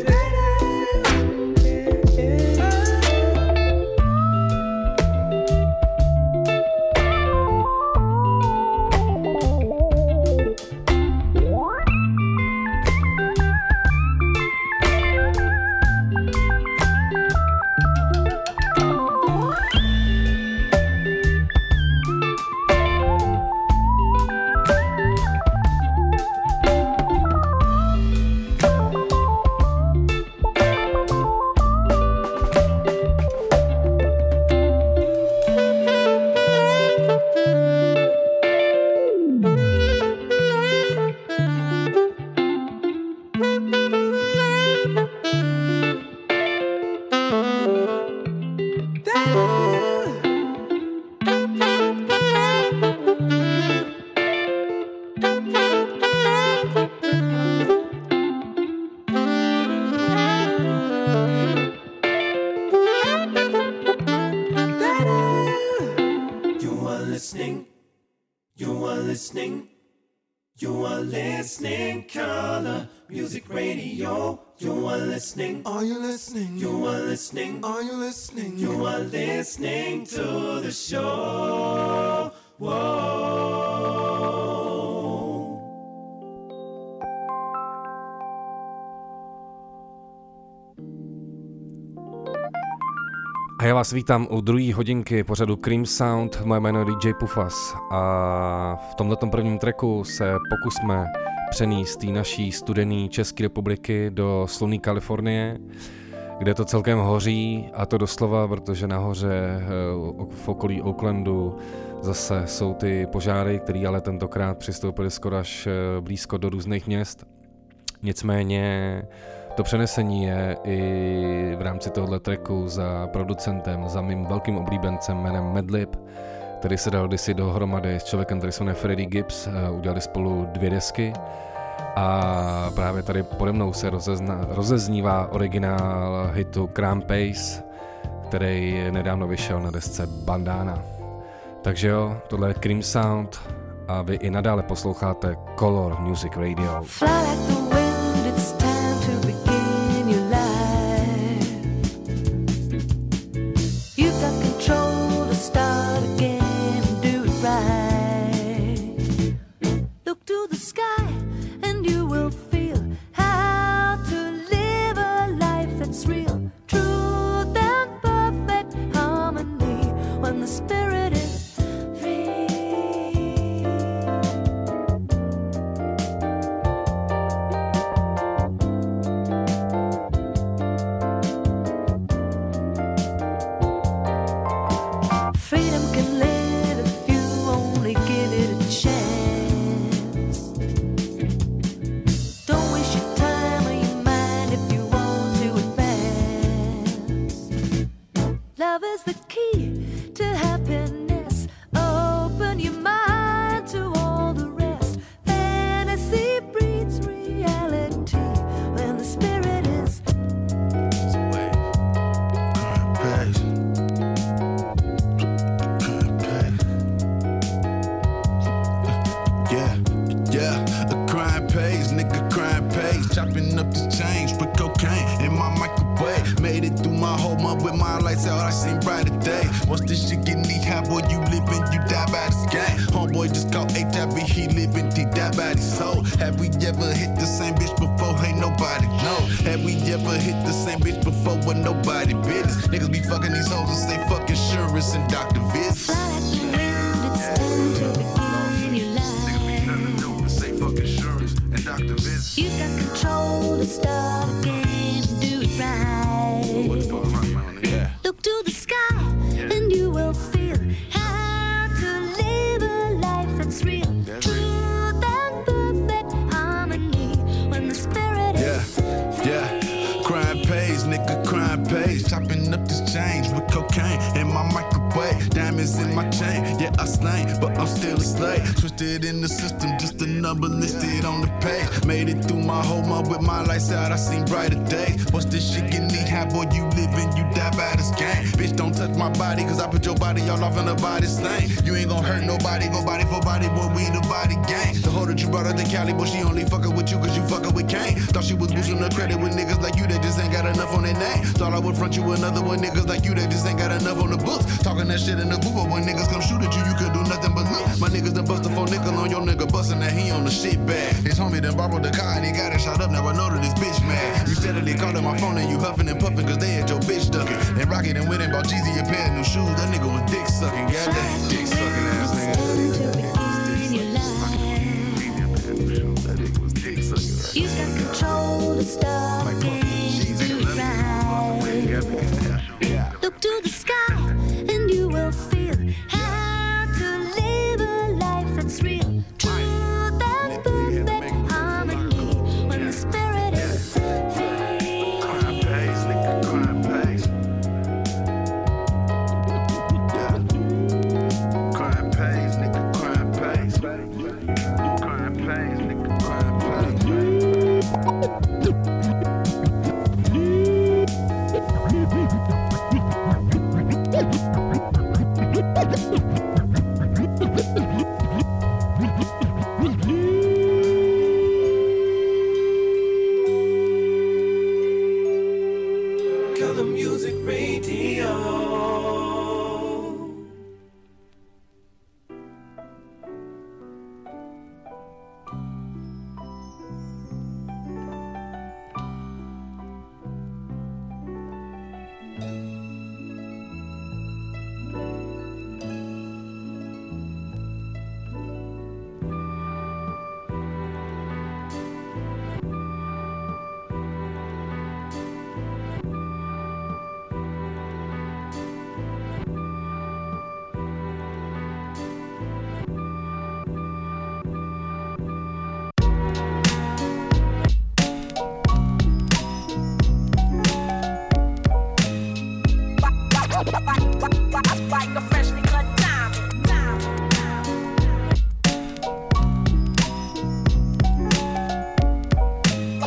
You are listening, Color Music Radio. You are listening. Are you listening? You are listening. Are you listening? You are listening to the show. Whoa. A já vás vítám u druhé hodinky pořadu Cream Sound. Moje jméno je DJ Pufas a v tomto prvním tracku se pokusme přenést té naší studené České republiky do slunné Kalifornie, kde to celkem hoří, a to doslova, protože nahoře v okolí Oaklandu zase jsou ty požáry, které ale tentokrát přistoupily skoro až blízko do různých měst. Nicméně to přenesení je i v rámci tohoto tracku za producentem, za mým velkým oblíbencem jménem Madlib, který se dal kdysi dohromady s člověkem, který se jmenuje Freddie Gibbs, udělali spolu 2 desky a právě tady pode mnou se rozeznívá originál hitu Crime Pace, který nedávno vyšel na desce Bandana. Takže jo, tohle je Cream Sound a vy i nadále posloucháte Color Music Radio. It's time to begin your life. You've got control to start again and do it right. Look to the sky and you will feel how to live a life that's real, truth and perfect harmony when the spirit is free. Freedom can live if you only give it a chance. Don't waste your time or your mind if you want to advance. Love is the key to happiness. Open your mind to all the rest. Fantasy breeds reality when the spirit is. Chopping up the change, put cocaine in my microwave. Made it through my whole month with my lights out, I seen brighter days. Once this shit get knee high, boy, you living, you die by this game. Homeboy just caught HIV, he living, he died by his soul. Have we ever hit the same bitch before? Ain't nobody know. Have we ever hit the same bitch before with nobody business? Niggas be fucking these hoes and say fuck insurance and Dr. Visits. Fly like the wind, it's time to begin your life. Niggas be nothing to do and say fuck insurance and Dr. Visits. You got control to start again and do it right. What the fuck, man? Yeah. Look to the sky and you will feel how to live a life that's real. Truth and perfect harmony when the spirit is free. Crime pays, nigga, crime pays. Chopping up this change with cocaine in my microwave. Diamonds in my chain, yeah, I slain, but I'm still a slave. Twisted in the system, just a number listed on the page. Made it through my whole month with my lights out, I seen brighter days. Once this shit get knee high, boy, you living, you die by this game. Bitch, don't touch my body, cause I put your body all off in the body stain. You ain't gon' hurt nobody, go body for body, boy, we the body gang. The hoe that you brought out to Cali, boy, she only fuckin' with you cause you fuckin' with Kane. Thought she was boosting her credit with niggas like you that just ain't got enough on their name. Thought I would front you another one, niggas like you that just ain't got enough on the books. Talking that shit in the booth, but when niggas come shoot at you, you could do nothing but look. My niggas done bust a 4 nickel on your nigga, bustin' that he on the shit bag. His homie done borrowed the car and he got it shot up, now I know that this bitch mad. You steadily callin' my phone and you huffin' and puffin' cause they had your bitch duckin'. And Rocket and went and bought Jeezy a pair of new shoes, that nigga was dick sucking, goddamn dick sucking ass nigga. You got control to start again and do it right. Look to the sky and you will feel how to live a life that's real. Truth and perfect harmony when the spirit is free. Crime pays, nigga, crime pays. Yeah. Crime pays, nigga, crime pays. Crime pays, nigga, crime pays.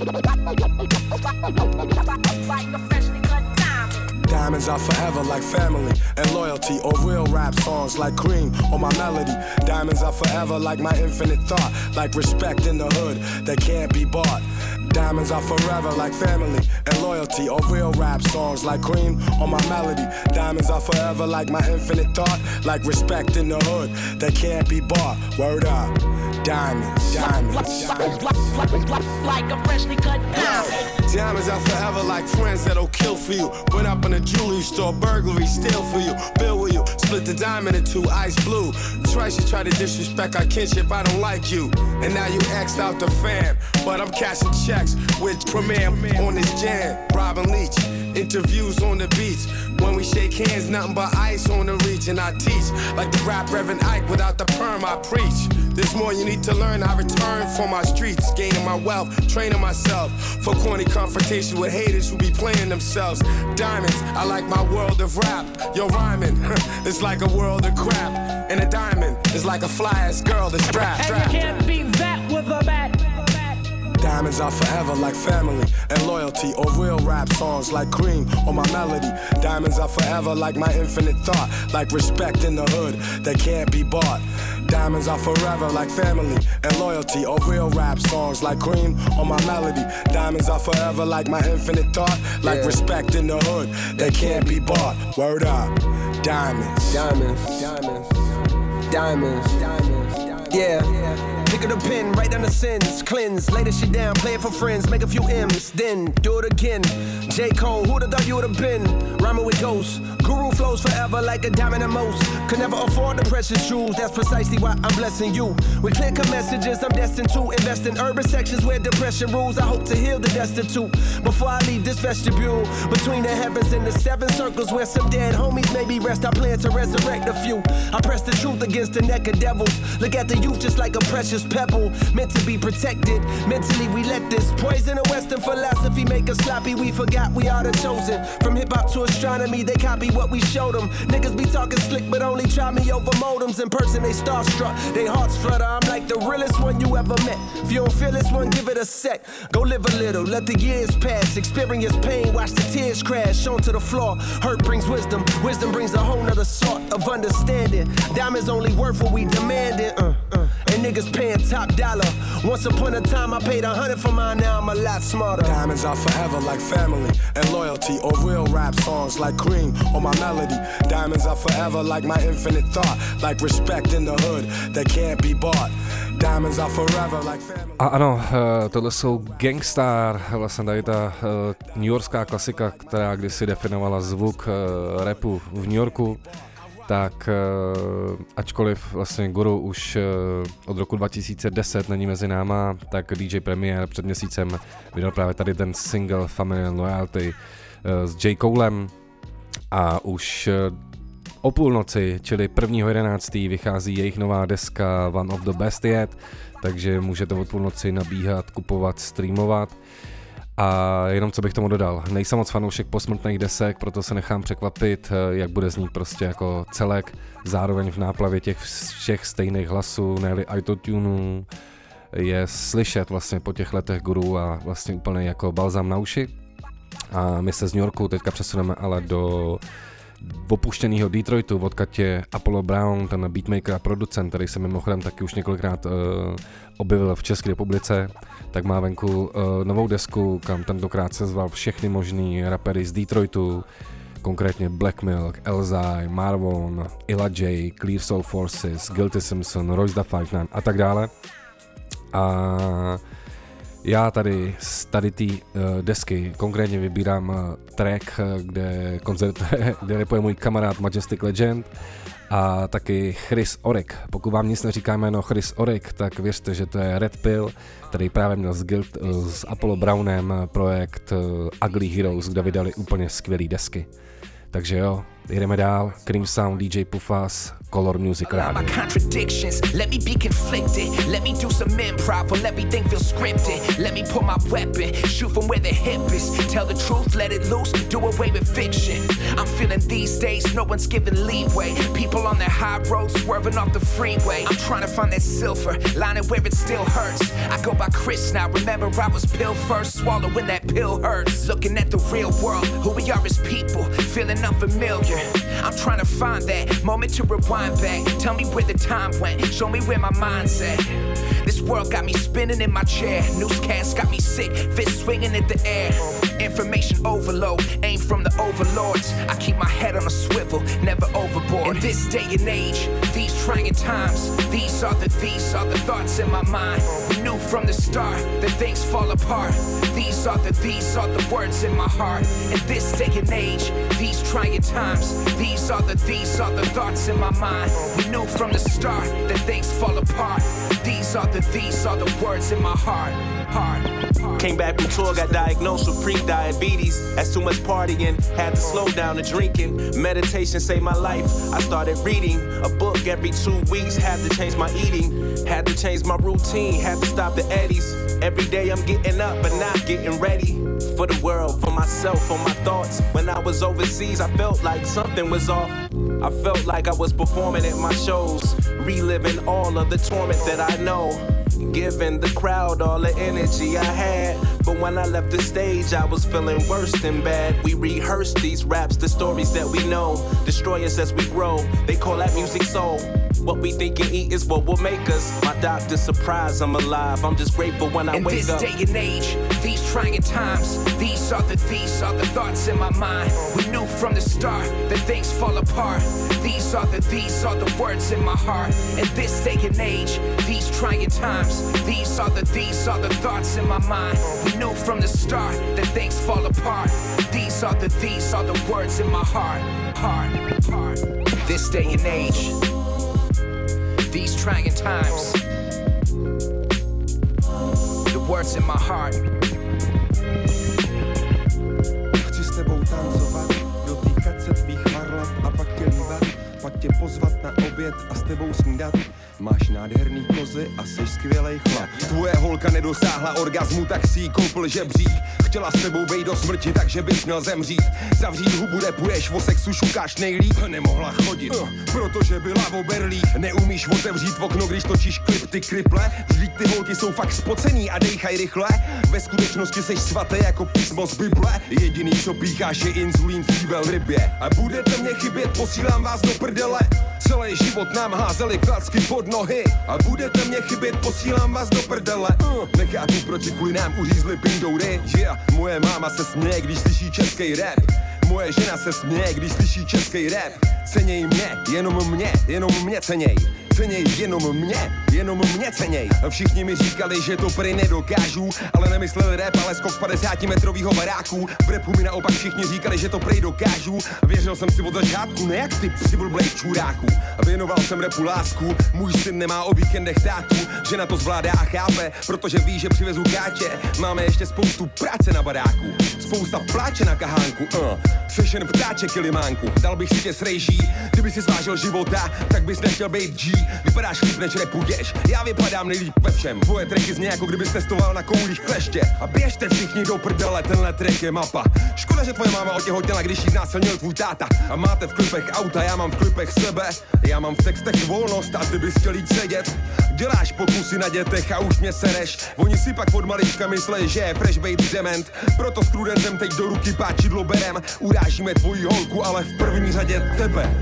Diamonds are forever like family and loyalty, or real rap songs like Cream or my melody. Diamonds are forever like my infinite thought, like respect in the hood that can't be bought. Diamonds are forever like family and loyalty, or real rap songs like Cream or my melody. Diamonds are forever like my infinite thought, like respect in the hood that can't be bought. Word up. Diamonds, diamonds, like a freshly cut diamond. Diamonds are forever like friends that'll kill for you. Went up in a jewelry store, burglary, steal for you. Bill with you, split the diamond in two, ice blue. Twice you try to disrespect our kinship, I don't like you. And now you axed out the fam, but I'm cashing checks with Premier on this jam. Robin Leach, interviews on the beach. When we shake hands, nothing but ice on the reach. And I teach like the rap Reverend Ike, without the perm I preach. There's more you need to learn, I return for my streets, gaining my wealth, training myself for corny confrontation with haters who be playing themselves. Diamonds, I like my world of rap. Yo, rhyming, it's like a world of crap. And a diamond is like a fly-ass girl that's strapped. And you can't beat that with a bat. Diamonds are forever like family and loyalty, or real rap songs like Cream or my melody. Diamonds are forever like my infinite thought, like respect in the hood that can't be bought. Diamonds are forever like family and loyalty, or real rap songs like Cream or my melody. Diamonds are forever like my infinite thought, like respect in the hood that can't be bought. Word up. Diamonds, diamonds, diamonds, diamonds, diamonds. Yeah. Pick up the pen, write down the sins, cleanse, lay this shit down, play it for friends, make a few M's, then do it again. J. Cole, who'da thought you would've been? Rhyming with ghosts, guru flows forever like a diamond at most. Could never afford the precious jewels, that's precisely why I'm blessing you. With clear-cut messages, I'm destined to invest in urban sections where depression rules. I hope to heal the destitute before I leave this vestibule. Between the heavens and the seven circles where some dead homies maybe rest, I plan to resurrect a few. I press the truth against the neck of devils. Look at the youth just like a precious pebble, meant to be protected. Mentally we let this poison of Western philosophy make us sloppy. We forgot we are the chosen. From hip-hop to astronomy, they copy what we showed them. Niggas be talking slick but only try me over modems. In person they starstruck, they hearts flutter. I'm like the realest one you ever met. If you don't feel this one, give it a sec. Go live a little, let the years pass. Experience pain, watch the tears crash onto the floor. Hurt brings wisdom, wisdom brings a whole nother sort of understanding. Diamonds only worth what we demanding. And niggas paying top dollar. Once upon a time I paid 100 for mine, now I'm a lot smarter. Diamonds are forever like family and loyalty, or real rap songs like Cream or my melody. Diamonds are forever like my infinite thought, like respect in the hood that can't be bought. Diamonds are forever like family. A ano, tohle jsou Gangstar, vlastně tady ta newyorská klasika, která kdysi definovala zvuk rapu v New Yorku. Tak ačkoliv vlastně Guru už od roku 2010 není mezi náma, tak DJ Premier před měsícem vydal právě tady ten single Family and Loyalty s J. Colem a už o půlnoci, čili 1.11. vychází jejich nová deska One of the Best Yet, takže můžete od půlnoci nabíhat, kupovat, streamovat. A jenom co bych tomu dodal, nejsem moc fanoušek posmrtných desek, proto se nechám překvapit, jak bude znít prostě jako celek, zároveň v náplavě těch všech stejných hlasů, ne-li autotunů, je slyšet vlastně po těch letech Guru a vlastně úplně jako balzám na uši. A my se z New Yorku teďka přesuneme ale do opuštěného Detroitu, odkud je Apollo Brown, ten beatmaker a producent, který se mimochodem taky už několikrát objevil v České republice, tak má venku novou desku, kam tentokrát se zval všechny možný rapery z Detroitu, konkrétně Black Milk, Elzai, Marvon, Illa J, Clear Soul Forces, Guilty Simpson, Royce da 59 a tak dále. A já tady z tady té desky konkrétně vybírám track, kde rapuje můj kamarád Majestic Legend a taky Chris Oryk. Pokud vám nic neříká jméno Chris Oryk, tak věřte, že to je Red Pill, který právě měl s Apollo Brownem projekt Ugly Heroes, kde vydali úplně skvělý desky. Takže jo, Jedeme dál, Cream Sound, DJ Pufas, Color Music Radio. My contradictions, let me be conflicted. Let me do some improv while everything feels scripted. Let me pull my weapon, shoot from where the hip is. Tell the truth, let it loose, do away with fiction. I'm feeling these days, no one's giving leeway. People on their high road swerving off the freeway. I'm trying to find that silver lining where it still hurts. I go by Chris now, remember I was pill first. Swallowing that pill hurts. Looking at the real world, who we are as people, feeling unfamiliar. I'm trying to find that moment to rewind back. Tell me where the time went, show me where my mind's at. This world got me spinning in my chair. Newscast got me sick, fist swinging in the air. Information overload, aim from the overlords. I keep my head on a swivel, never overboard. In this day and age, these trying times, these are the thoughts in my mind. We knew from the start that things fall apart. These are the words in my heart. In this day and age, these trying times, these are the thoughts in my mind. We knew from the start that things fall apart. These are the words in my heart. Came back from tour, got diagnosed with pre-diabetes. That's too much partying, had to slow down the drinking. Meditation saved my life. I started reading a book every 2 weeks. Had to change my eating, had to change my routine, had to stop the eddies. Every day I'm getting up but not getting ready for the world, for myself, for my thoughts. When I was overseas, I felt like something was off. I felt like I was performing at my shows, reliving all of the torment that I know, giving the crowd all the energy I had. But when I left the stage, I was feeling worse than bad. We rehearsed these raps, the stories that we know, destroy us as we grow. They call that music soul. What we think and eat is what will make us. My doctor's surprised I'm alive. I'm just grateful when I wake up. In this day and age, these trying times, these are the thoughts in my mind. We knew from the start that things fall apart. These are the words in my heart. In this day and age, these trying times, these are the thoughts in my mind. We knew from the start that things fall apart. These are the words in my heart. This day and age, these trying times, the words in my heart. Chci s tebou tancovat, dotýkat se tvých varlat a pak tě líbat, pak tě pozvat na oběd a s tebou snídat. Máš nádherný kozy a jsi skvělej chlap. Tvoje holka nedosáhla orgazmu, tak si jí koupil žebřík. Chtěla s tebou vejít do smrti, takže bys měl zemřít. Zavřít hubu, repuješ, o sexu šukáš nejlíp. Nemohla chodit, protože byla v oberlích. Neumíš otevřít okno, když točíš klip, ty kriple. Vždyť ty holky jsou fakt spocený a dejchaj rychle. Ve skutečnosti seš svaté jako písmo z Bible. Jediný, co pícháš, je inzulín v té velrybě. A budete mě chybět, posílám vás do prdele. Celý život nám házeli klacky pod nohy. A budete mě chybět, posílám vás do prdele. Nechápu, proč si kvůli nám uřízli pindoury. Yeah. Moje máma se směje, když slyší český rap. Moje žena se směje, když slyší český rap. Ceněj mě, jenom mě ceněj. Ceněj jenom mě ceněj. Všichni mi říkali, že to prý nedokážu, ale nemysleli rap, ale skok z 50metrovýho baráku. V rapu mi naopak všichni říkali, že to prý dokážu. Věřil jsem si od začátku, ne jak ty psi blblej čuráku. Věnoval jsem rapu lásku, můj syn nemá o víkendech tátu. Žena to zvládá a chápe, protože ví, že přivezu káče. Máme ještě spoustu práce na baráku, spousta pláče na kahánku. Seš jen ptáček kilimánku, dal bych si tě srejží. Kdyby si zvážil života, tak bys nechtěl být G. Vypadáš líp, než repuješ, já vypadám nejlíp ve všem. Tvoje tracky zní jako kdybys testoval na koulích kleště. A běžte všichni do prdele, tenhle track je mapa. Škoda, že tvoje máma otěhotněla, když jí znásilnil tvůj táta. A máte v klipech auta, já mám v klipech sebe. Já mám v textech volnost a ty bys chtěl jít sedět. Děláš pokusy na dětech a už mě sereš. Oni si pak od malička myslej, že je fresh baby dement. Proto s Prudencem teď do ruky páčidlo berem. Urážíme tvoji holku, ale v první řadě tebe.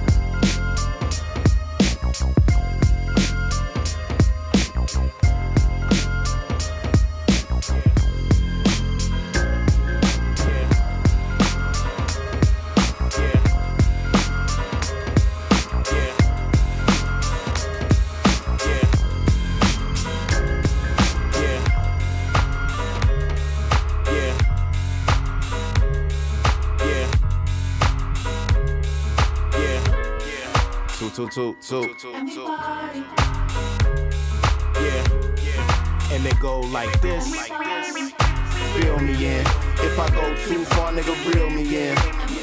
Yeah. And it go like this. Feel me in. If I go too far, nigga, reel me in.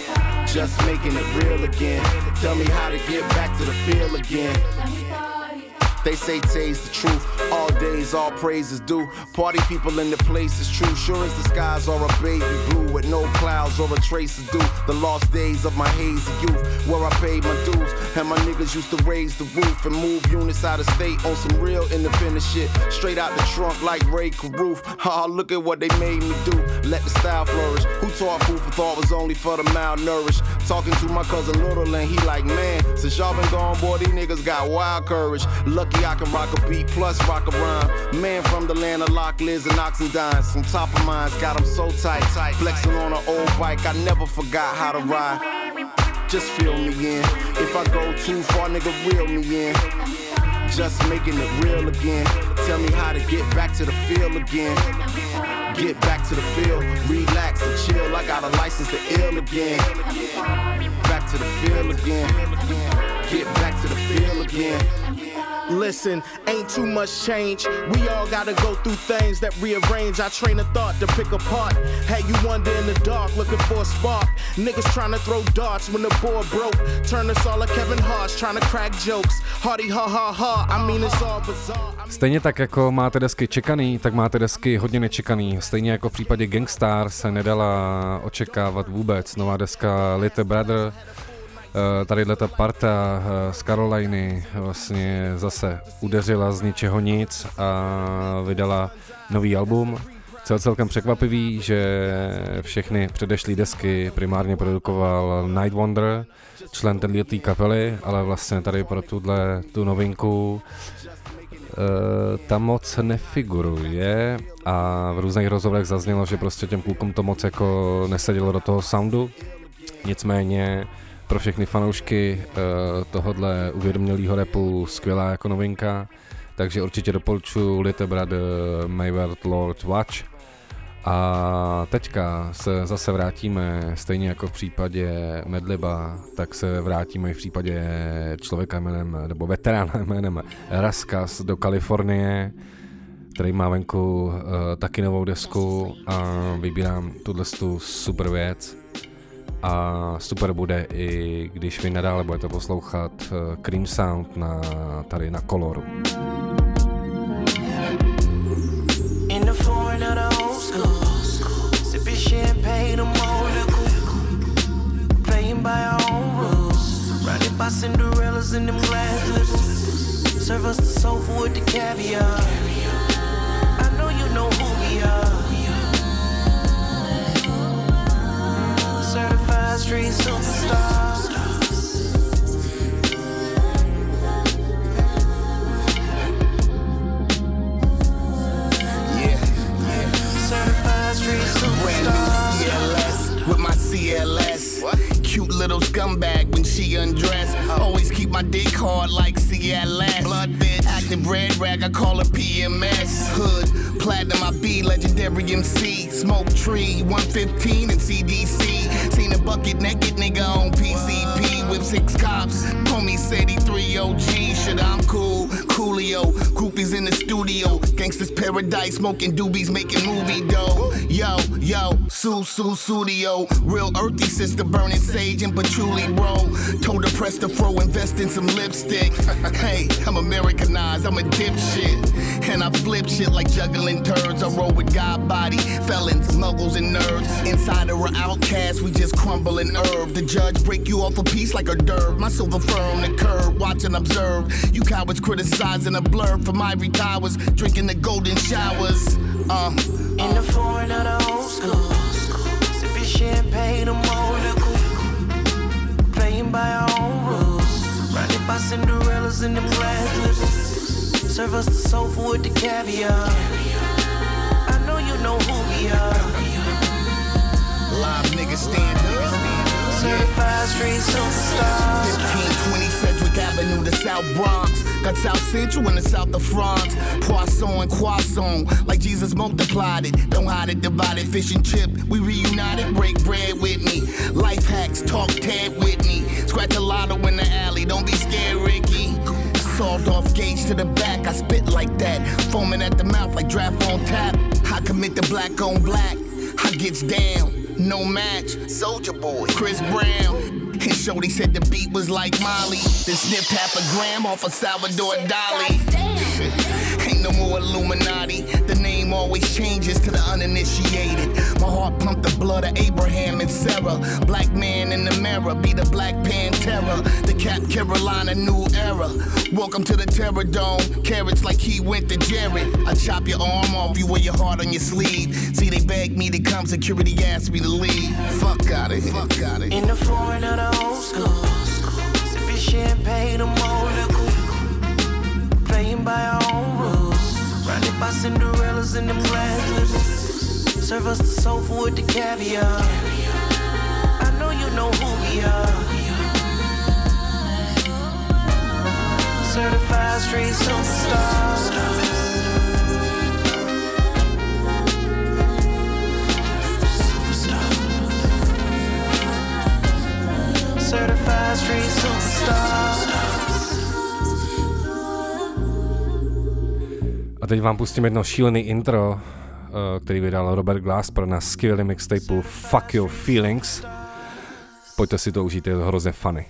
just making it real again. Tell me how to get back to the feel again. They say today's the truth. All days, all praises due. Party people in the place is true. Sure as the skies are a baby blue, with no clouds or a trace of dew. The lost days of my hazy youth, where I paid my dues, and my niggas used to raise the roof and move units out of state on some real independent shit. Straight out the trunk like Ray Caruth. Ha, look at what they made me do. Let the style flourish. Who taught food for thought was only for the malnourished? Talking to my cousin Little and he like, man, since y'all been gone, boy, these niggas got wild courage. Lucky I can rock a beat plus rock a rhyme. Man from the land of Loch Liz and Oxendine. Some top of mines got them so tight. Flexing on an old bike, I never forgot how to ride. Just feel me in. If I go too far, nigga, reel me in. Just making it real again. Tell me how to get back to the feel again. Get back to the feel, relax and chill. I got a license to ill again. Back to the feel again. Get back to the feel again. Listen, ain't too much change. We all gotta go through things that rearrange our train of thought to pick apart. Had you wonder in the dark, looking for a spark. Niggas trying to throw darts when the board broke. Turn us all like Kevin Hart, trying to crack jokes. Hardy ha ha ha, I mean it's all bizarre. Stejně tak jako máte desky čekaný, tak máte desky hodně nečekaný. Stejně jako v případě Gangstar se nedala očekávat vůbec. Nová deska Little Brother. Tadyhle ta parta z Caroliny vlastně zase udeřila z ničeho nic a vydala nový album. Co je celkem překvapivý, že všechny předešlý desky primárně produkoval Night Wonder, člen této kapely, ale vlastně tady pro tu novinku tam moc nefiguruje a v různých rozhovorech zaznělo, že prostě těm klukům to moc jako nesedělo do toho soundu. Nicméně pro všechny fanoušky tohodle uvědomělého rapu skvělá jako novinka, takže určitě doporučuji Little Brother, Mayward Lord Watch. A teďka se zase vrátíme, stejně jako v případě Madliba, tak se vrátíme i v případě člověka jménem, nebo veterána jménem Raskas do Kalifornie, který má venku taky novou desku a vybírám tu super věc. A super bude i když vy nadále budete poslouchat Cream Sound tady na Coloru. In the foreign of the old school, sipping champagne, I'm old liquor, playing by our own rules, riding by Cinderellas in them glass slippers, serve us the soul food with the caviar. I know you know who we are. Certified street superstar. Certified street superstar. CLS with my CLS. What? Cute little scumbag when she undressed. Always keep my dick hard like CLS. Blood bitch, active red rag, I call her PMS. Hood, platinum, I be legendary MC. Smoke tree, 115 and CDC. Seen a bucket naked nigga on PCP with 6 cops. Homie said he 3 OG. Shit, I'm cool. Coolio, groupies in the studio. Gangsters paradise, smoking doobies, making movie dough. Yo, studio. Real earthy sister burning sage and patchouli, bro. Told her press the fro, invest in some lipstick. Hey, I'm Americanized, I'm a dipshit. And I flip shit like juggling turds. I roll with God body, felons, muggles and nerds. Insider or outcast, we just crumble and herb. The judge break you off a piece like a derb. My silver fur on the curb, watch and observe. You cowards criticizing a blur from ivory towers, drinking the golden showers. In the foreign of the old school, sipping champagne, I'm old liquor, playing by our own rules, riding by Cinderellas in them glass slippers, serve us the soul food with the caviar. I know you know who we are. Live niggas stand up. Certified street superstar. 1520 Sedgwick Avenue, the South Bronx. Got South Central and the South of France. Poisson and croissant, like Jesus multiplied it. Don't hide it, divide it, fish and chip. We reunited, break bread with me. Life hacks, talk Ted Whitney. Scratch a lotto in the alley, don't be scared, Ricky. Sawed off gauge to the back, I spit like that. Foaming at the mouth like draft on tap. I commit the black on black. I gets down, no match. Soulja Boy, Chris Brown. And Shorty said the beat was like Molly. Then sniffed half a gram off of Salvador Dali. Ain't no more Illuminati. The name always changes to the uninitiated. My heart pumped the blood of Abraham and Sarah. Black man in the mirror, be the Black Pantera. The Cap Carolina new era. Welcome to the Terror Dome. Carrots like he went to Jared. I chop your arm off, you wear your heart on your sleeve. See, they begged me to come, security asked me to leave. Fuck out of here. Fuck out of here. In the foreign of the old school, sipping champagne, I'm old liquor. Playing by our own rules. Surrounded by Cinderellas in them glasses. Serve us the soul food with the caviar. I know you know who we are. Certified street superstars. Certified street superstars. A teď vám pustím jedno šílený intro, který vydal Robert Glasper na skvělém mixtapeu Fuck Your Feelings. Pojďte si to užít, je to hrozně funny.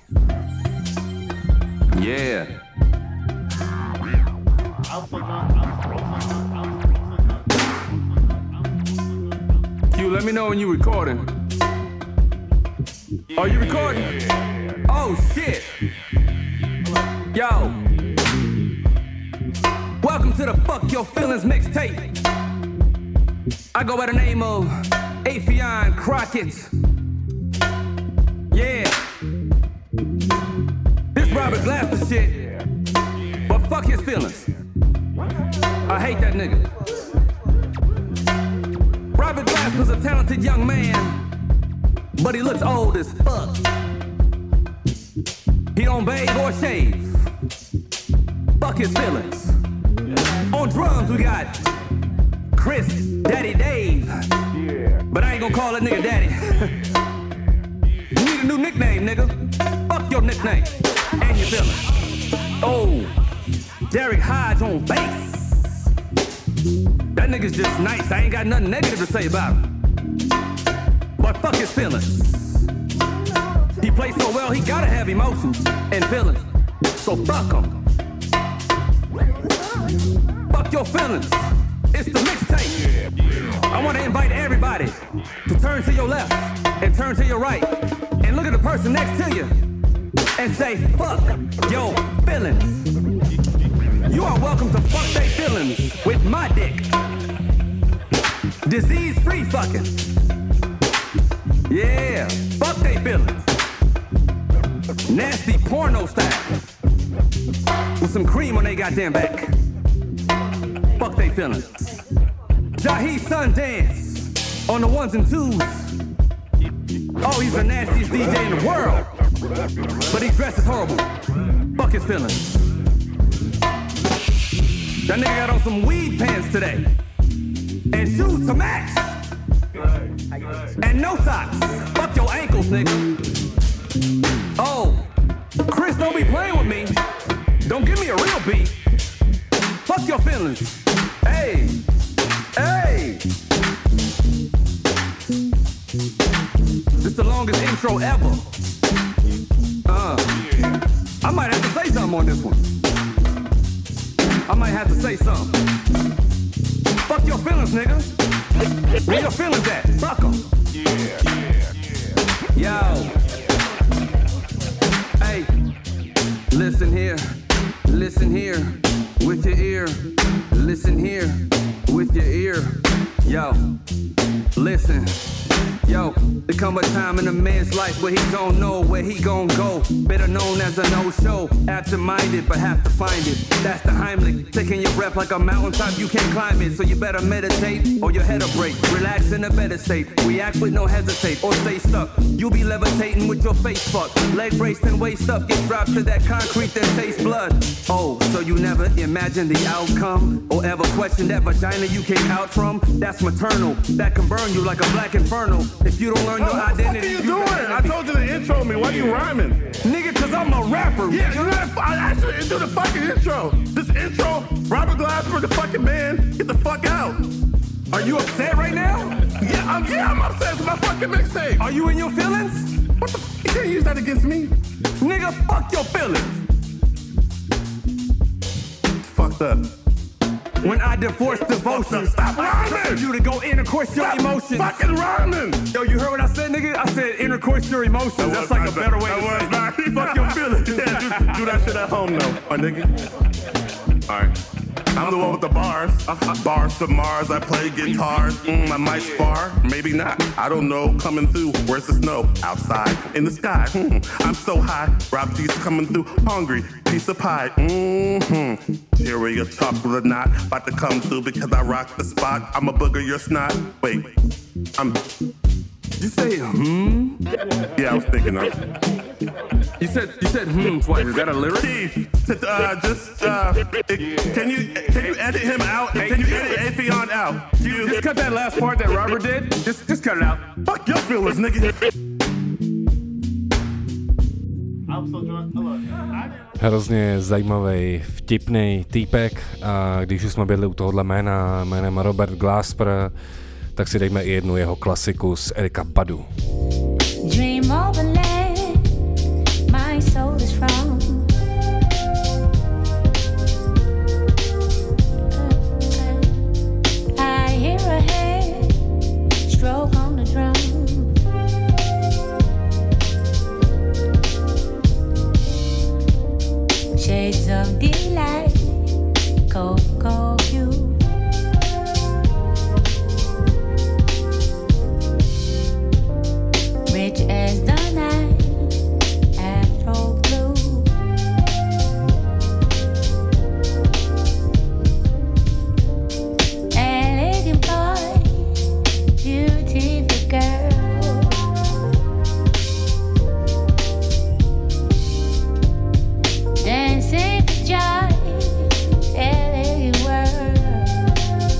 Yeah. You let me know when you recording. Are you recording? Oh shit. Yo. Welcome to the Fuck Your Feelings mixtape. I go by the name of Afion Crockett. Yeah. This Robert Glasper shit. But fuck his feelings. I hate that nigga. Robert Glasper's a talented young man, but he looks old as fuck. He don't bathe or shave. Fuck his feelings. On drums we got Chris Daddy Dave. But I ain't gonna call that nigga Daddy. You need a new nickname, nigga. Fuck your nickname and your feelings. Oh, Derek Hodge on bass. That nigga's just nice. I ain't got nothing negative to say about him. But fuck his feelings. He plays so well, he gotta have emotions and feelings. So fuck him. Fuck your feelings. It's the mixtape. I want to invite everybody to turn to your left and turn to your right and look at the person next to you and say, fuck your feelings. You are welcome to fuck they feelings with my dick. Disease-free fucking. Yeah, fuck they feelings. Nasty porno style. With some cream on they goddamn back. Fuck they feelings. Jahi Sundance on the ones and twos. Oh, he's the nastiest DJ in the world. But he dresses horrible. Fuck his feelings. That nigga got on some weed pants today. And shoes to match. And no socks. Fuck your ankles, nigga. Oh, Chris, don't be playing with me. Don't give me a real beat. Fuck your feelings. Hey, hey. This the longest intro ever. I might have to say something on this one. I might have to say something. Fuck your feelings, nigga. Where your feelings at? Fuck 'em. Yo. Hey, listen here, with your ear. Listen here, with your ear. Yo, listen. Yo, there come a time in a man's life where he don't know where he gon' go. Better known as a no-show. Absent-minded, but have to find it. That's the Heimlich. Taking your breath like a mountaintop, you can't climb it. So you better meditate or your head'll break. Relax in a better state. React with no hesitate or stay stuck. You'll be levitating with your face fucked. Leg braced and waist up. Get dropped to that concrete that tastes blood. Oh, so you never imagine the outcome? Or ever question that vagina you came out from? That's maternal. That can burn you like a black inferno. If you don't learn your identity, What are you doing? I told you to intro me. Why are you rhyming? Nigga, cause I'm a rapper. Yeah, you gotta. I asked you to do the fucking intro. This intro, Robert Glasper, the fucking man, get the fuck out. Are you upset right now? Yeah, I'm upset with my fucking mixtape. Are you in your feelings? What the you can't use that against me. Nigga, fuck your feelings. Fucked up. When I divorce devotion, stop rhyming! You to go intercourse your emotions. Fucking rhyming! Yo, you heard what I said, nigga? I said intercourse your emotions. That's like a better way to say it. Fuck your feelings. Yeah, do that shit at home though, my nigga. Alright. I'm the one with the bars. Bars to Mars, I play guitars. I might spar, maybe not. I don't know. Coming through, where's the snow? Outside, in the sky. I'm so high. Rob G's coming through, hungry. Piece of pie. Cherry, a chocolate knot. About to come through because I rock the spot. I'm a booger, your snot. Wait, Did you say Yeah, I was thinking of. You said twice. Is that a lyric? Keith, can you edit him out? Can you edit Afion out? Just cut that last part that Robert did. Just cut it out. Fuck your feelings, nigga. Hrozně zajímavý, vtipný týpek a když už jsme byli u tohohle jménem Robert Glasper, tak si dejme i jednu jeho klasiku z Erika Badu. Dream overland, my soul is from. I hear a hand stroke on the drum. Shades of delight, cocoa hue. Rich as the night, Afro blue. Elegant boy, beautiful girl. Dancing for joy, elegant world.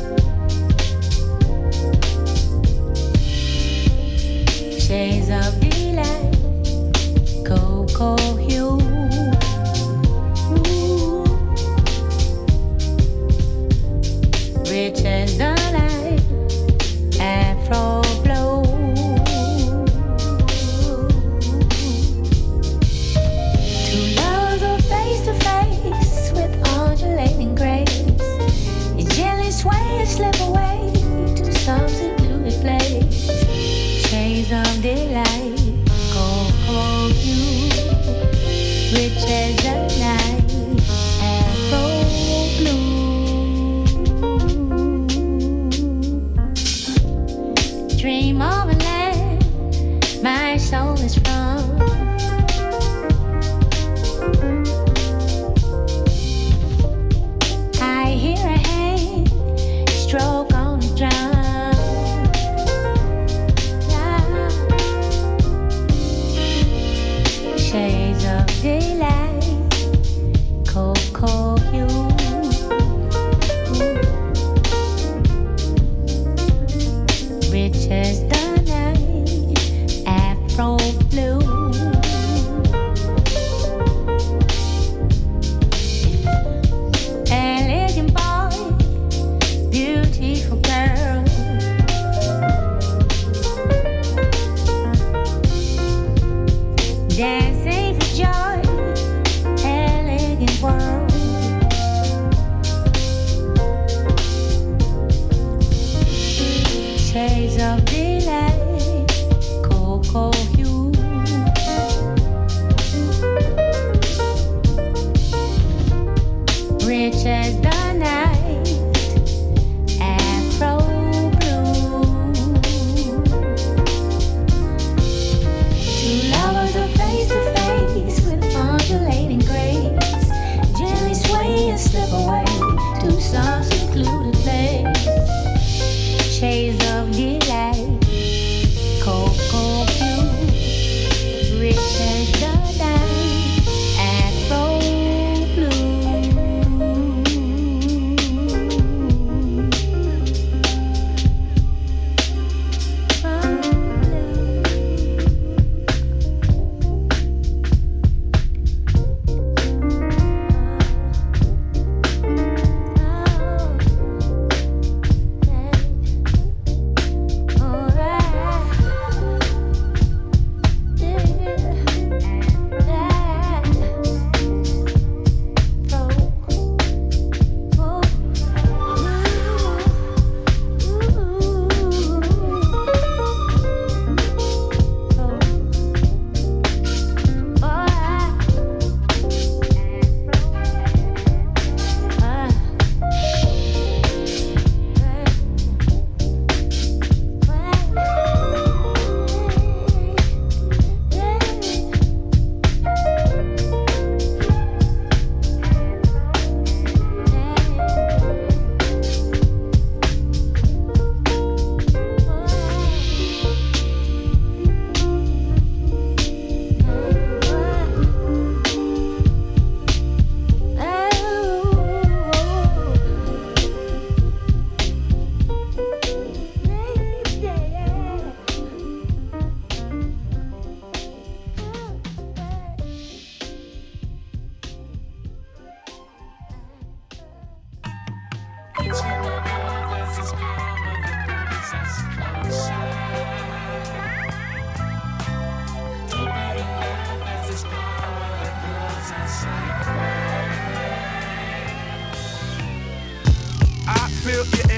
Shades of delight, cocoa hue. Rich as the night, Afro blow. Two lovers are face to face with undulating grace. You gently sway and slip away to some secluded place. Shades of delight, cocoa hue, rich as the night, Afro blue.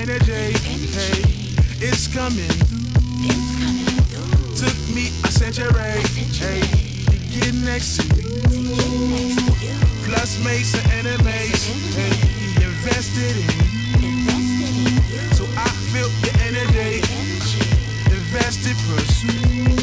energy. Hey, it's coming through. Took me a century. Hey, to get next to you. Plus made some enemies. Hey, invested in you. So I feel your energy. Invested, pursue.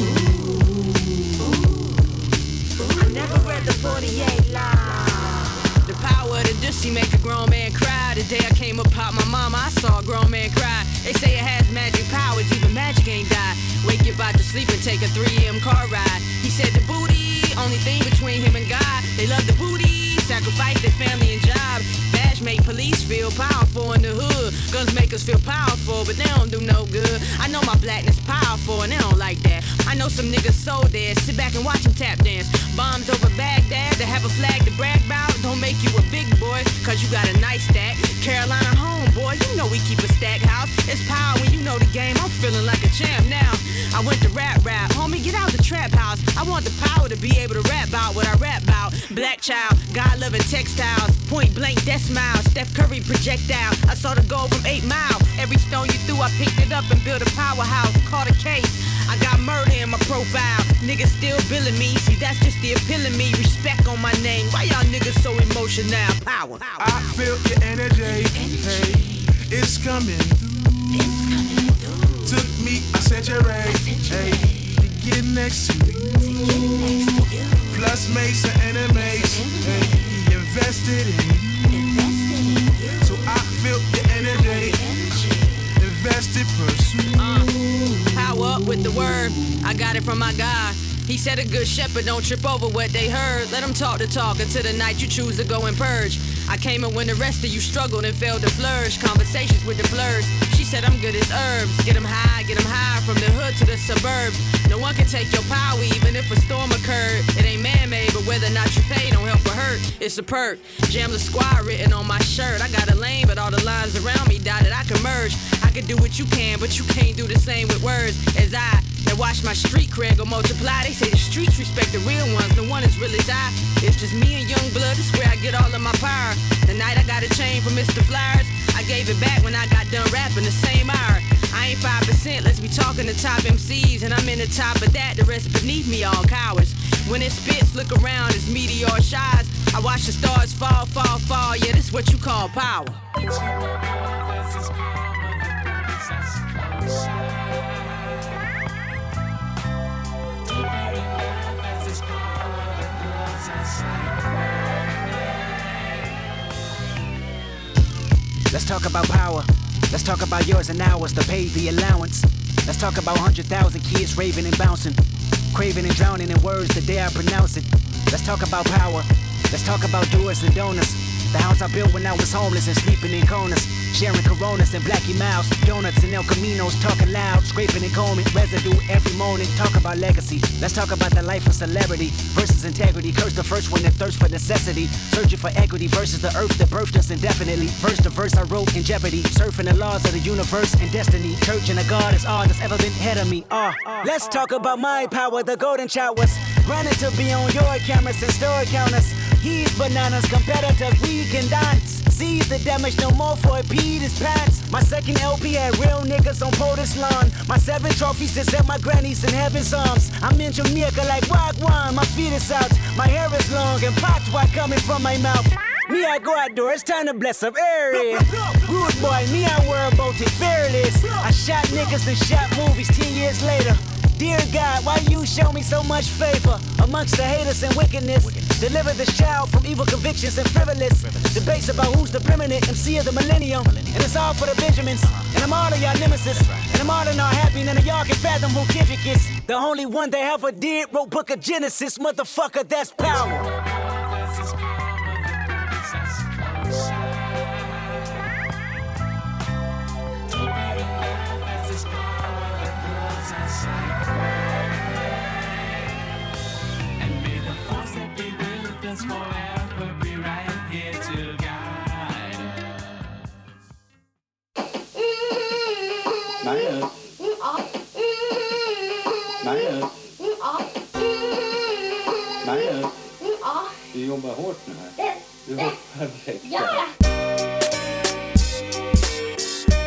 I never read the 48 line. The power of the Dusty make a grown man cry. The day I came upon my mama, I saw a grown man cry. They say it has magic powers, even magic ain't die. Wake your body to sleep and take a 3 AM car ride. He said the booty, only thing between him and God. They love the booty, sacrifice their family and job. Badge make police feel powerful in the hood. Guns make us feel powerful, but they don't do no good. I know my blackness powerful and they don't like that. I know some niggas so dead, sit back and watch them tap dance. Bombs over Baghdad, to have a flag to brag about. Don't make you a big boy, cause you got a nice stack. Carolina homeboy, you know we keep a stack house. It's power when you know the game, I'm feeling like a champ now. I went to rap, homie, get out the trap house. I want the power to be able to rap about what I rap about. Black child, God-loving textiles, point blank, death smile, Steph Curry projectile. I saw the goal from 8 Mile. Every stone you threw, I picked it up and built a powerhouse. Caught a case, I got murder in my profile. Niggas still billing me, see that's just the epitome. Respect on my name, why y'all niggas so emotional? Power. I feel your energy. Hey, it's coming through. Took me a century. Hey, to get next to you. Plus made some enemies. Hey, invested in you. So I feel your energy. Invested, pursue. Power up with the word, I got it from my God. He said a good shepherd don't trip over what they heard. Let them talk the talk until the night you choose to go and purge. I came in when the rest of you struggled and failed to flourish. Conversations with the blurs. She said I'm good as herbs. Get them high from the hood to the suburbs. No one can take your power even if a storm occurred. It ain't man-made, but whether or not you pay don't help or hurt. It's a perk. Jam the squad written on my shirt. I got a lane, but all the lines around me dotted. I can merge. I can do what you can, but you can't do the same with words as I. That watch my street cred go multiply. They say the streets respect the real ones. No one as real as I. It's just me and young blood. It's where I get all of my power. The night I got a chain from Mr. Flyers, I gave it back when I got done rapping the same hour. I ain't 5%, let's be talking to top MCs, and I'm in the top of that, the rest beneath me all cowards. When it spits, look around, it's meteor shines. I watch the stars fall, fall, fall, yeah, this what you call power. Let's talk about power. Let's talk about yours and ours to pay the allowance. Let's talk about 100,000 kids raving and bouncing, craving and drowning in words the day I pronounce it. Let's talk about power. Let's talk about doers and donors. The house I built when I was homeless and sleeping in corners. Sharing Coronas and Blackie Mouse, donuts and El Caminos, talking loud, scraping and combing, residue every morning. Talk about legacy. Let's talk about the life of celebrity versus integrity. Curse the first one that thirsts for necessity, searching for equity versus the earth that birthed us indefinitely. Verse to verse I wrote in jeopardy, surfing the laws of the universe and destiny. Church and a God is all that's ever been ahead of me. Let's talk about my power, the golden showers. Granted to be on your cameras and store counters. He's bananas, competitors, we can dance. Seize the damage, no more for it, Pete his pants. My second LP had real niggas on POTUS lawn. My 7 trophies is at my granny's in heaven's arms. I'm in Jamaica like Wagwan, my feet is out. My hair is long and patois coming from my mouth. Me, I go outdoors, it's time to bless up area. Rude boy, me, I worry about it, fearless. I shot niggas and shot movies 10 years later. Dear God, why you show me so much favor amongst the haters and wickedness? Deliver this child from evil convictions and frivolous debates about who's the preeminent MC of the millennium. And it's all for the Benjamins. And I'm all of y'all nemesis. And I'm all in our happy. None of y'all can fathom who Kendrick is. The only one that ever did wrote Book of Genesis. Motherfucker, that's power. Forever be right here to guide us. Nej upp. Nej upp. Nej upp. Du jobbar hårt nu här. Du hoppar direkt.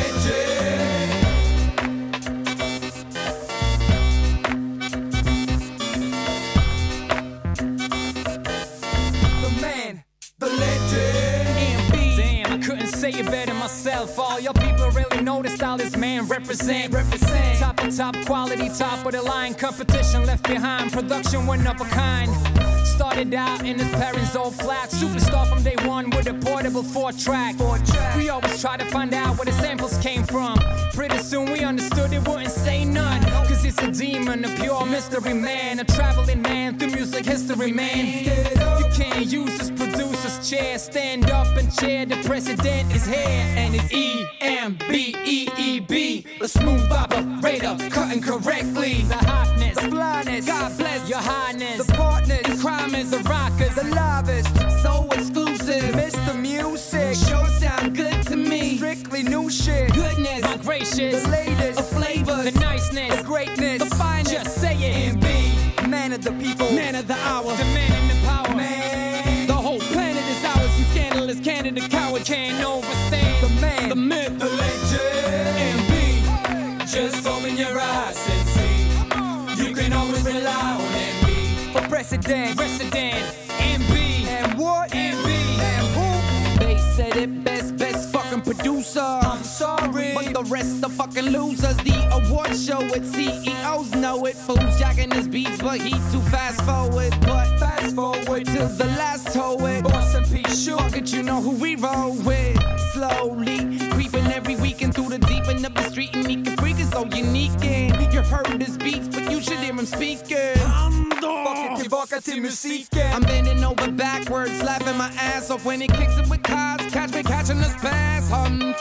Say it better myself. All your people really know the style this man represent. Top of top quality, top of the line. Competition left behind. Production one of a kind. Started out in his parents' old flat. Superstar from day one with a portable 4-track. We always try to find out where the samples came from. Pretty soon we understood it wouldn't say none. Cause it's a demon, a pure mystery man. A traveling man through music history, man. You can't use this producer's chair. Stand up and cheer, the president is here. And it's E-M-B-E-E-B. The smooth operator, cutting correctly. The hotness, the blindness, God bless your highness. The partners, the crimers, the rockers, the livest. So exclusive, Mr. Music. Sure sound good to me. Strictly new shit. Goodness, my gracious. The latest, the flavors, the niceness, the greatness, the finest. Just say it. M.B. Man of the people, man of the hour, the man in the power. Man, the whole planet is ours. You scandalous, candidate, coward can't overstand. The man, the myth, the legend. M.B. Just open your eyes and see. You can always rely on M.B. For president, M.B. And what? M.B. And who? They said it best fucking producer. I'm sorry, but the rest are fucking losers. The award show it, CEOs know it. Fools jacking his beats, but he too fast forward. But fast forward to the last toe it. Boss and P, sure, fuck it, you know who we roll with. Slowly creeping every weekend through the deep end of the street, and he can freak is so unique. And you've heard his beats, but you should hear him speaking. Tillbaka till musiken. I'm bending over backwards, laughing my ass off when he kicks it with cards. Catch me catching this pass. Jag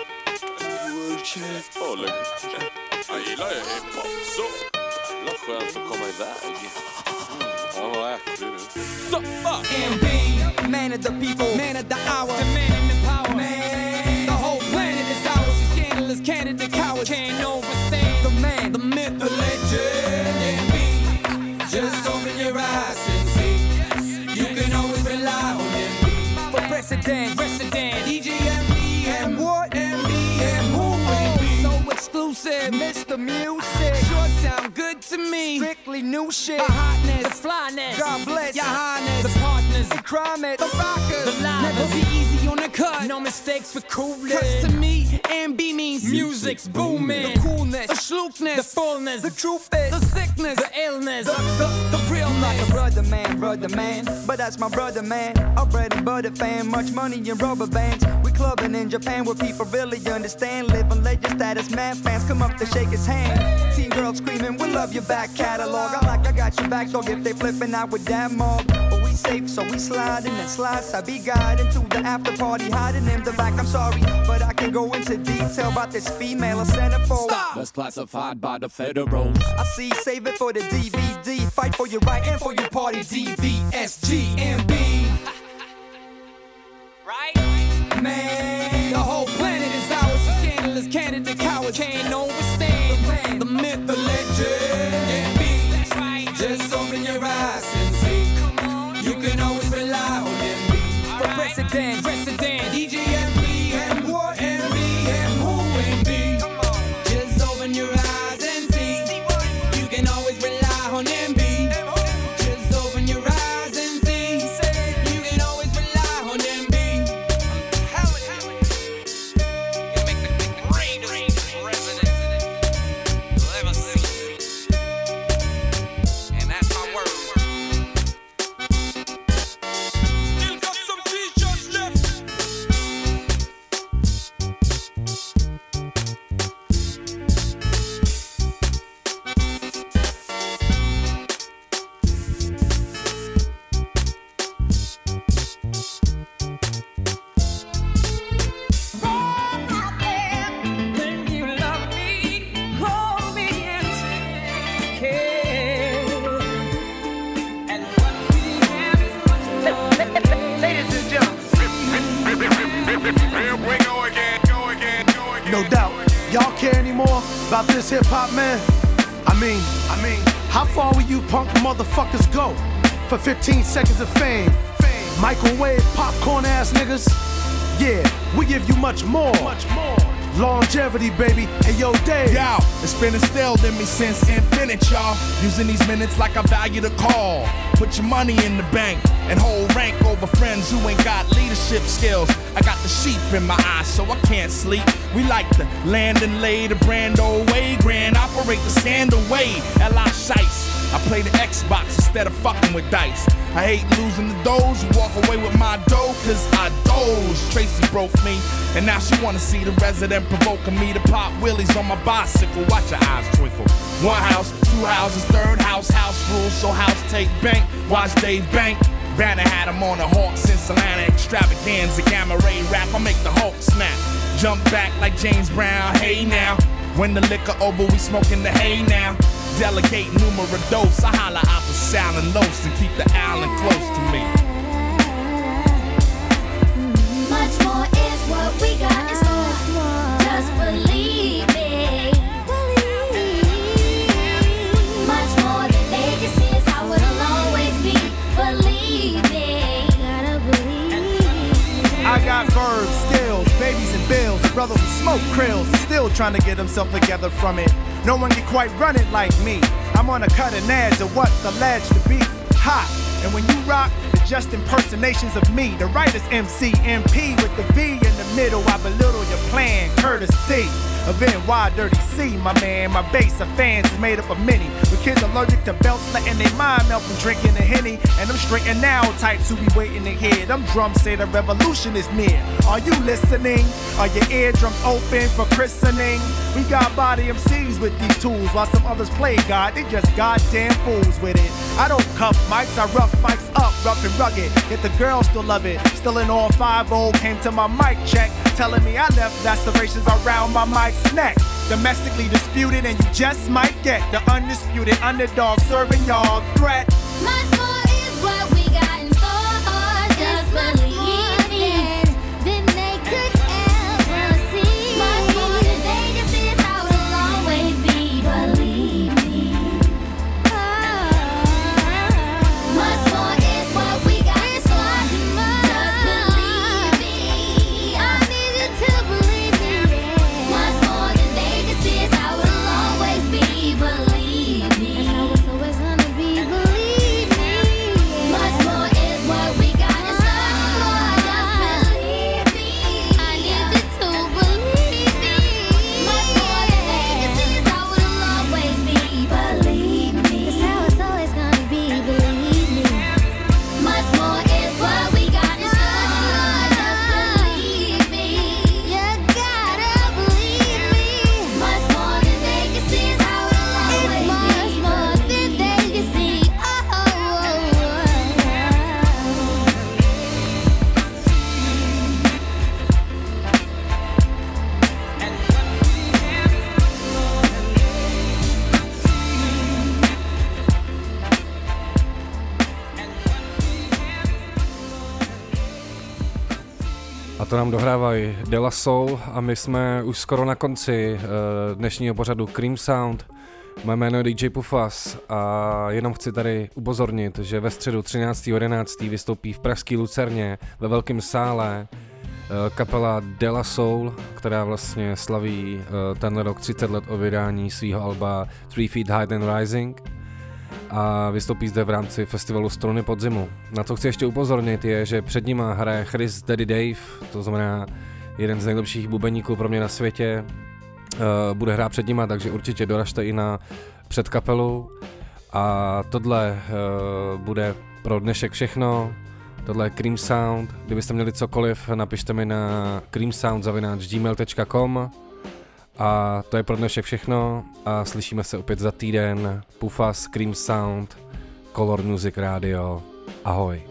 gillar ju hiphop så. Jävla skönt att komma iväg. Ja, vad äcklig du. M.B. Man of the people, man of the hour, the man in the power. Man, the whole planet is ours. You scandalous, candidate, coward can't overstand. The man, the myth, the legend. M.B. Just open your eyes and see. You can always rely on M.B. For president, DJ M.B. And what? M.B. and who? M.B. So exclusive, Mr. Music. Sure sound good to me. Strictly new shit. The hotness, the flyness. God bless your highness. The partners, the crimers, the rockers. The livers. Never be easy on the cut. No mistakes for coolness. Cause to me, M.B. means music's booming. The coolness, the sloopness, the fullness, the truth is, the sickness, the illness, the realness. I'm like a brother man, but that's my brother man. A bread and butter fan, much money in rubber bands. We clubbing in Japan where people really understand. Living legend status, mad fans come up to shake his hand. Teen girls screaming, we love your back catalog. I got your back dog if they flipping out with that mob. But we safe, so we sliding and slice. I be guiding to the after party, hiding in the back. I'm sorry, but I can go into detail about this female a centerfold. That's classified by the federals. I see, save it for the DVD. Fight for your right and for your party. DVSGMB. Right? Man, the whole planet is ours. You scandalous, candidate, coward can't overstand. The man, the myth, the legend. MB. That's right. Just open your eyes and see. You can always rely on MB. For president, DJ MB. And what MB and who MB. Just open your eyes and see. You can always rely on MB. Just open your eyes and see. You can always rely on MB. And that's my word. Still got some t-shirts left. When you love me, hold me and take care. And what we have is much more. Ladies and gentlemen, Here we go again. No doubt. Y'all care anymore about this hip hop, man? I mean, how far will you punk motherfuckers go for 15 seconds of fame? Microwave popcorn ass niggas? Yeah, we give you much more. longevity, baby. Hey, yo, Dave. Yo, it's been instilled in me since infinite, y'all. Using these minutes like I value the call. Put your money in the bank and hold rank over friends who ain't got leadership skills. I got the sheep in my eyes, so I can't sleep. We like to land and lay the brand old way. Grand operate the scandal way. L.I. Shice. I play the Xbox instead of fucking with dice. I hate losing the doors who walk away with my dough, cause I doze. Tracy broke me, and now she wanna see the resident provoking me to pop wheelies on my bicycle. Watch your eyes twinkle. One house, two houses, third house, house rules, so house take bank. Watch Dave Bank. Banner had him on the Hawks in Atlanta extravaganza. Gamma ray rap, I make the Hulk snap. Jump back like James Brown, hey now. When the liquor over, we smoking the hay now. Delegate numero dos, I holla out the Sal and Los and keep the island close to me. Much more is what we got in store. Just believe me. Much more than they can see is how it'll always be. Believe me. Gotta believe. I got verbs, skills, babies and bills. A brother who smoke krills is still trying to get himself together from it. No one can quite run it like me. I'm on a cutting edge of what's alleged to be hot. And when you rock, it's just impersonations of me. The writer's MC, MP with the V in the middle. I belittle your plan, courtesy of NY Dirty C, my man. My base of fans is made up of many. With kids allergic to belts, letting their mind melt from drinking a Henny. And I'm straight and now types who be waiting to hear. Them drums say the revolution is near. Are you listening? Are your eardrums open for christening? We got body MCs with these tools, while some others play God. They just goddamn fools with it. I don't cuff mics, I rough mics up, rough and rugged. Yet the girls still love it. Still in all 5-0, came to my mic check, telling me I left lacerations around my mic's neck. Domestically disputed, and you just might get the undisputed underdog serving y'all threat. Much more is what we got in store. Just believe me. Then they could ever see. Much more than they can see is how it'll always be. Believe me. Much more is what we got in store. Just believe me. I need you to believe me. Much more than they can see is how it'll always be. Believe me. That's how it's always gonna be. Believe me. Much more is what we got in store. Just believe me. I need you to believe me. Much more than they can see is how it'll always be. Believe me. That's how it's always gonna be. Believe me. Much more is what we got in store. Just believe me. You gotta believe me. Much more than they can see is how it'll always be. Much more than they can see. A to nám dohrávají De La Soul a my jsme už skoro na konci dnešního pořadu Cream Sound. Moje jméno je DJ Pufas a jenom chci tady upozornit, že ve středu 13.11. vystoupí v pražské Lucerně ve velkém sále kapela De La Soul, která vlastně slaví tenhle rok 30 let o vydání svého alba 3 Feet High and Rising a vystoupí zde v rámci festivalu Struny podzimu. Na co chci ještě upozornit je, že před nima hraje Chris Daddy Dave, to znamená jeden z nejlepších bubeníků pro mě na světě, bude hrát před nima, takže určitě doražte i na předkapelu a tohle bude pro dnešek všechno. Tohle je Cream Sound. Kdybyste měli cokoliv, napište mi na creamsound@gmail.com. A to je pro dnešek všechno a slyšíme se opět za týden. Pufas, Cream Sound, Color Music Radio. Ahoj.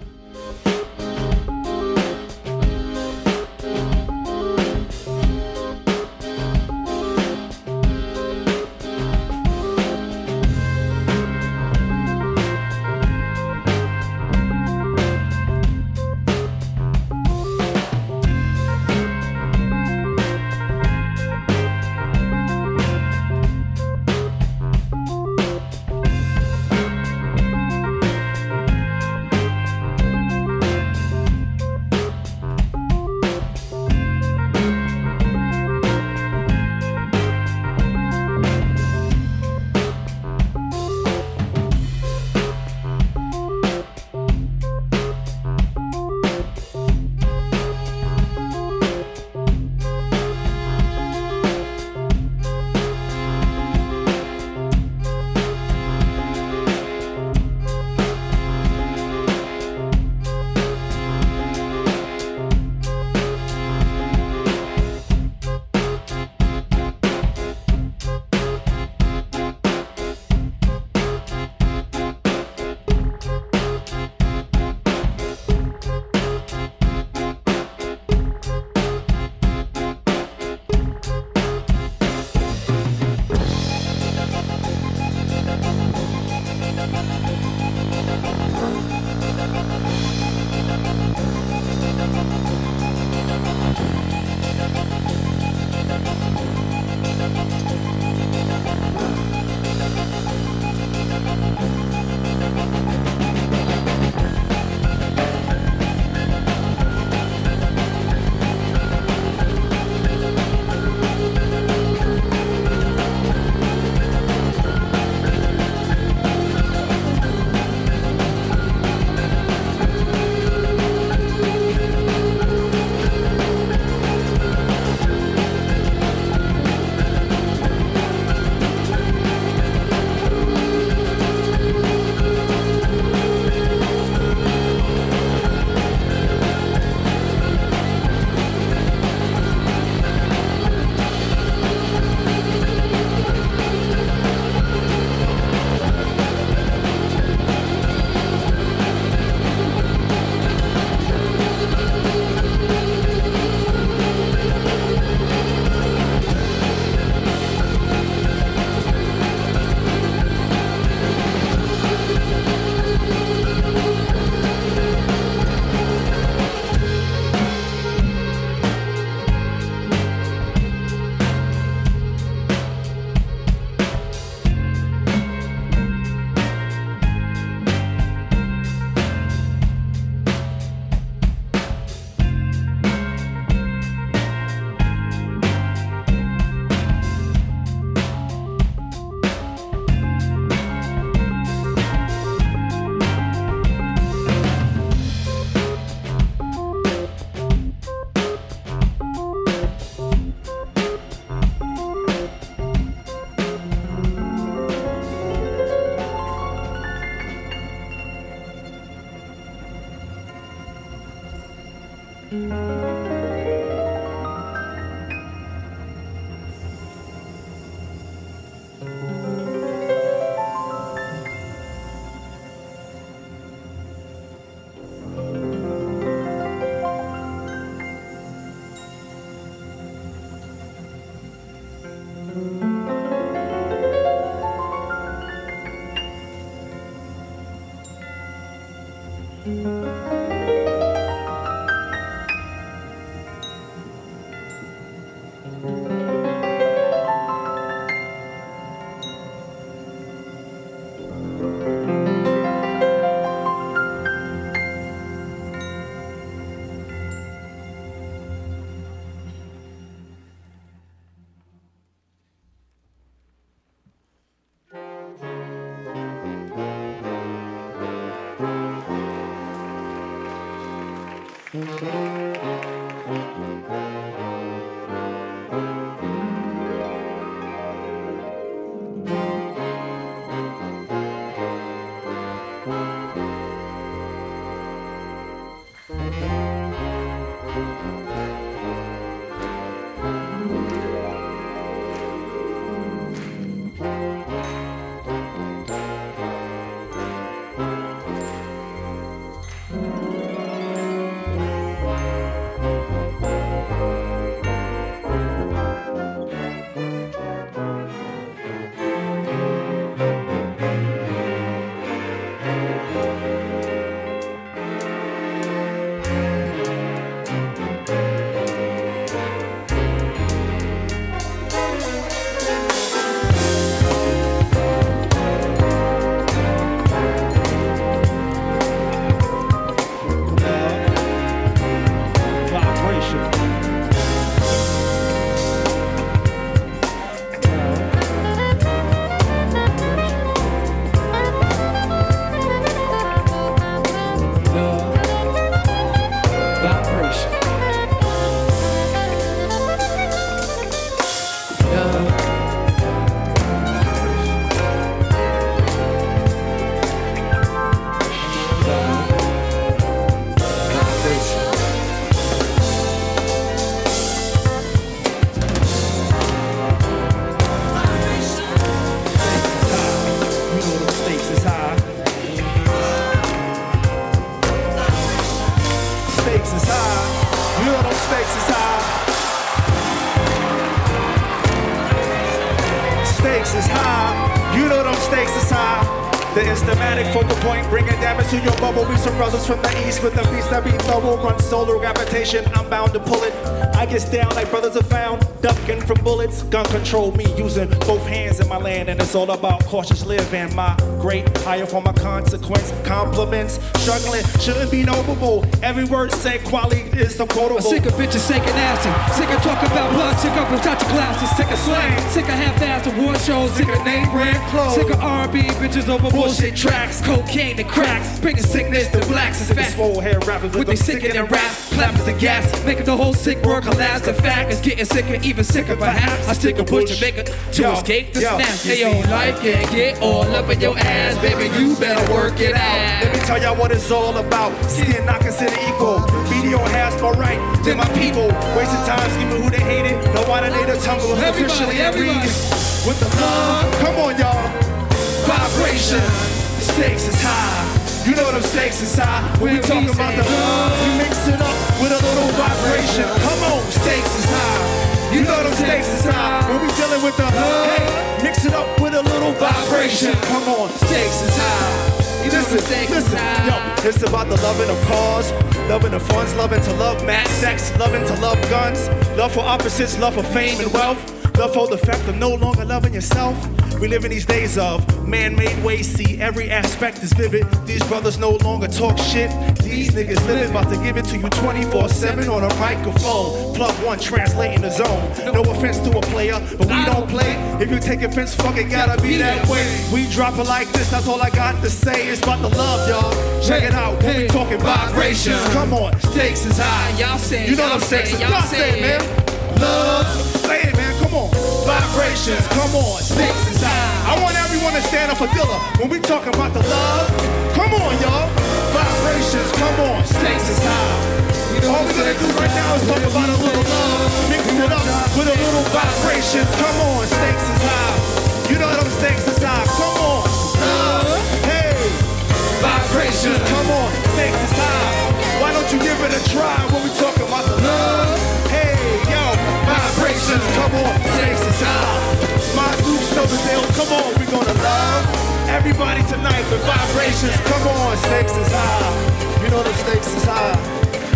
stakes is high. The instamatic focal point, bringing damage to your bubble. We some brothers from the east with the beats that be thorough. Run solar gravitation, I'm bound to pull it. I get down like brothers are found, ducking from bullets. Gun control me, using both hands in my land. And it's all about cautious living. My great higher for my consequence. Compliments, struggling, shouldn't be noble. Every word said, quality is so quotable. I'm sick of bitches shaking nasty. Sick of talking about blood. Sick of without your glasses. Sick of slang. Sick of half-assed award shows. Sick of name brand clothes. Sick of R&B bitches over bullshit tracks. Cocaine and cracks. Bringing sickness to blacks. Sick of swole hair rappers with they sickening raps. Clappers and gas. Making the whole sick world collapse. The fact is getting sicker, even sicker perhaps. I stick a bush to make it to escape the snap. Hey yo, life can't get all up in your ass. Baby, you better work it out. Let me tell y'all what it's all about. Seeing not considered equal. BDO has more right than my people. Wasting time scheming who they hated. No why they the tumble. Officially everybody with the love. Come on, y'all. Vibration. Stakes is high. You know them stakes is high. When we talk about the love, we mix it up with a little vibration. Come on, stakes is high. You know them stakes is high. When we dealing with the hey, mix it up with a little vibration. Come on, stakes is high. Listen, yo, it's about the loving of cars, loving the funds, loving to love mad sex, loving to love guns, love for opposites, love for fame and wealth, love for the fact of no longer loving yourself. We live in these days of man-made ways, see every aspect is vivid. These brothers no longer talk shit. These niggas living, about to give it to you 24/7 on a microphone. Plug one, translating the zone. No offense to a player, but we don't play. If you take offense, fuck it, gotta be that way. We drop it like this, that's all I got to say. It's about the love, y'all. Check it out, when we talking vibrations. Come on, stakes is high. Y'all say, you know them stakes is high. Y'all say, man. Love, say it, man. Come on, vibrations. Come on, stakes is high. I want everyone to stand up for Dilla when we talking about the love. Come on, y'all. Vibrations, come on, stakes is high. All we're gonna do right now is talk about a little love. Mix it up with a little vibrations. Come on, stakes is high. You know them stakes is high. Come on, love. Hey, vibrations. Come on, stakes is high. Why don't you give it a try when we talking about the love? Hey, yo, vibrations. Come on, stakes is high. My groups know the deal. Come on, we gonna love everybody tonight with vibrations. Come on, stakes is high. You know the stakes is high.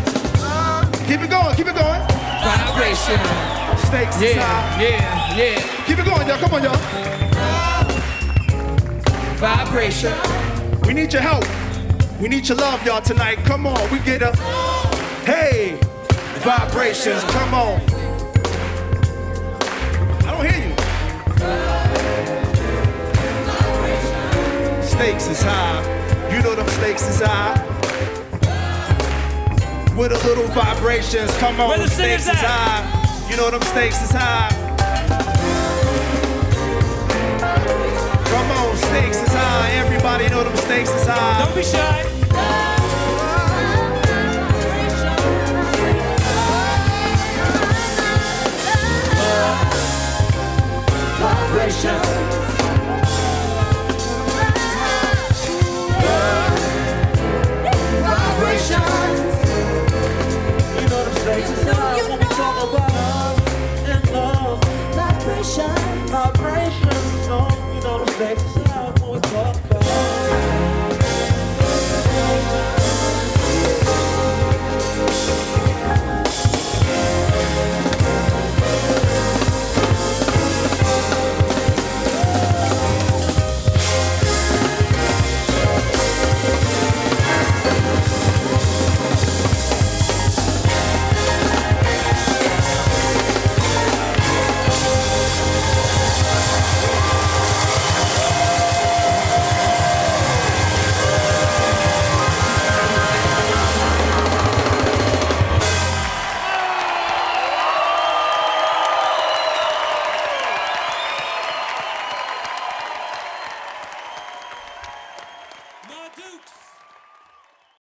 Keep it going, keep it going. Vibration. Stakes is high. Yeah. Keep it going, y'all. Come on, y'all. Vibration. We need your help. We need your love, y'all, tonight. Come on, we get a hey, vibrations. Come on. I don't hear you. Stakes is high. You know them stakes is high. With a little vibrations, come on, the stakes is high. You know them stakes is high. Come on, stakes is high. Everybody know them stakes is high. Don't be shy. Vibrations. You know them stakes is high. When we talk about love and love. Vibrations.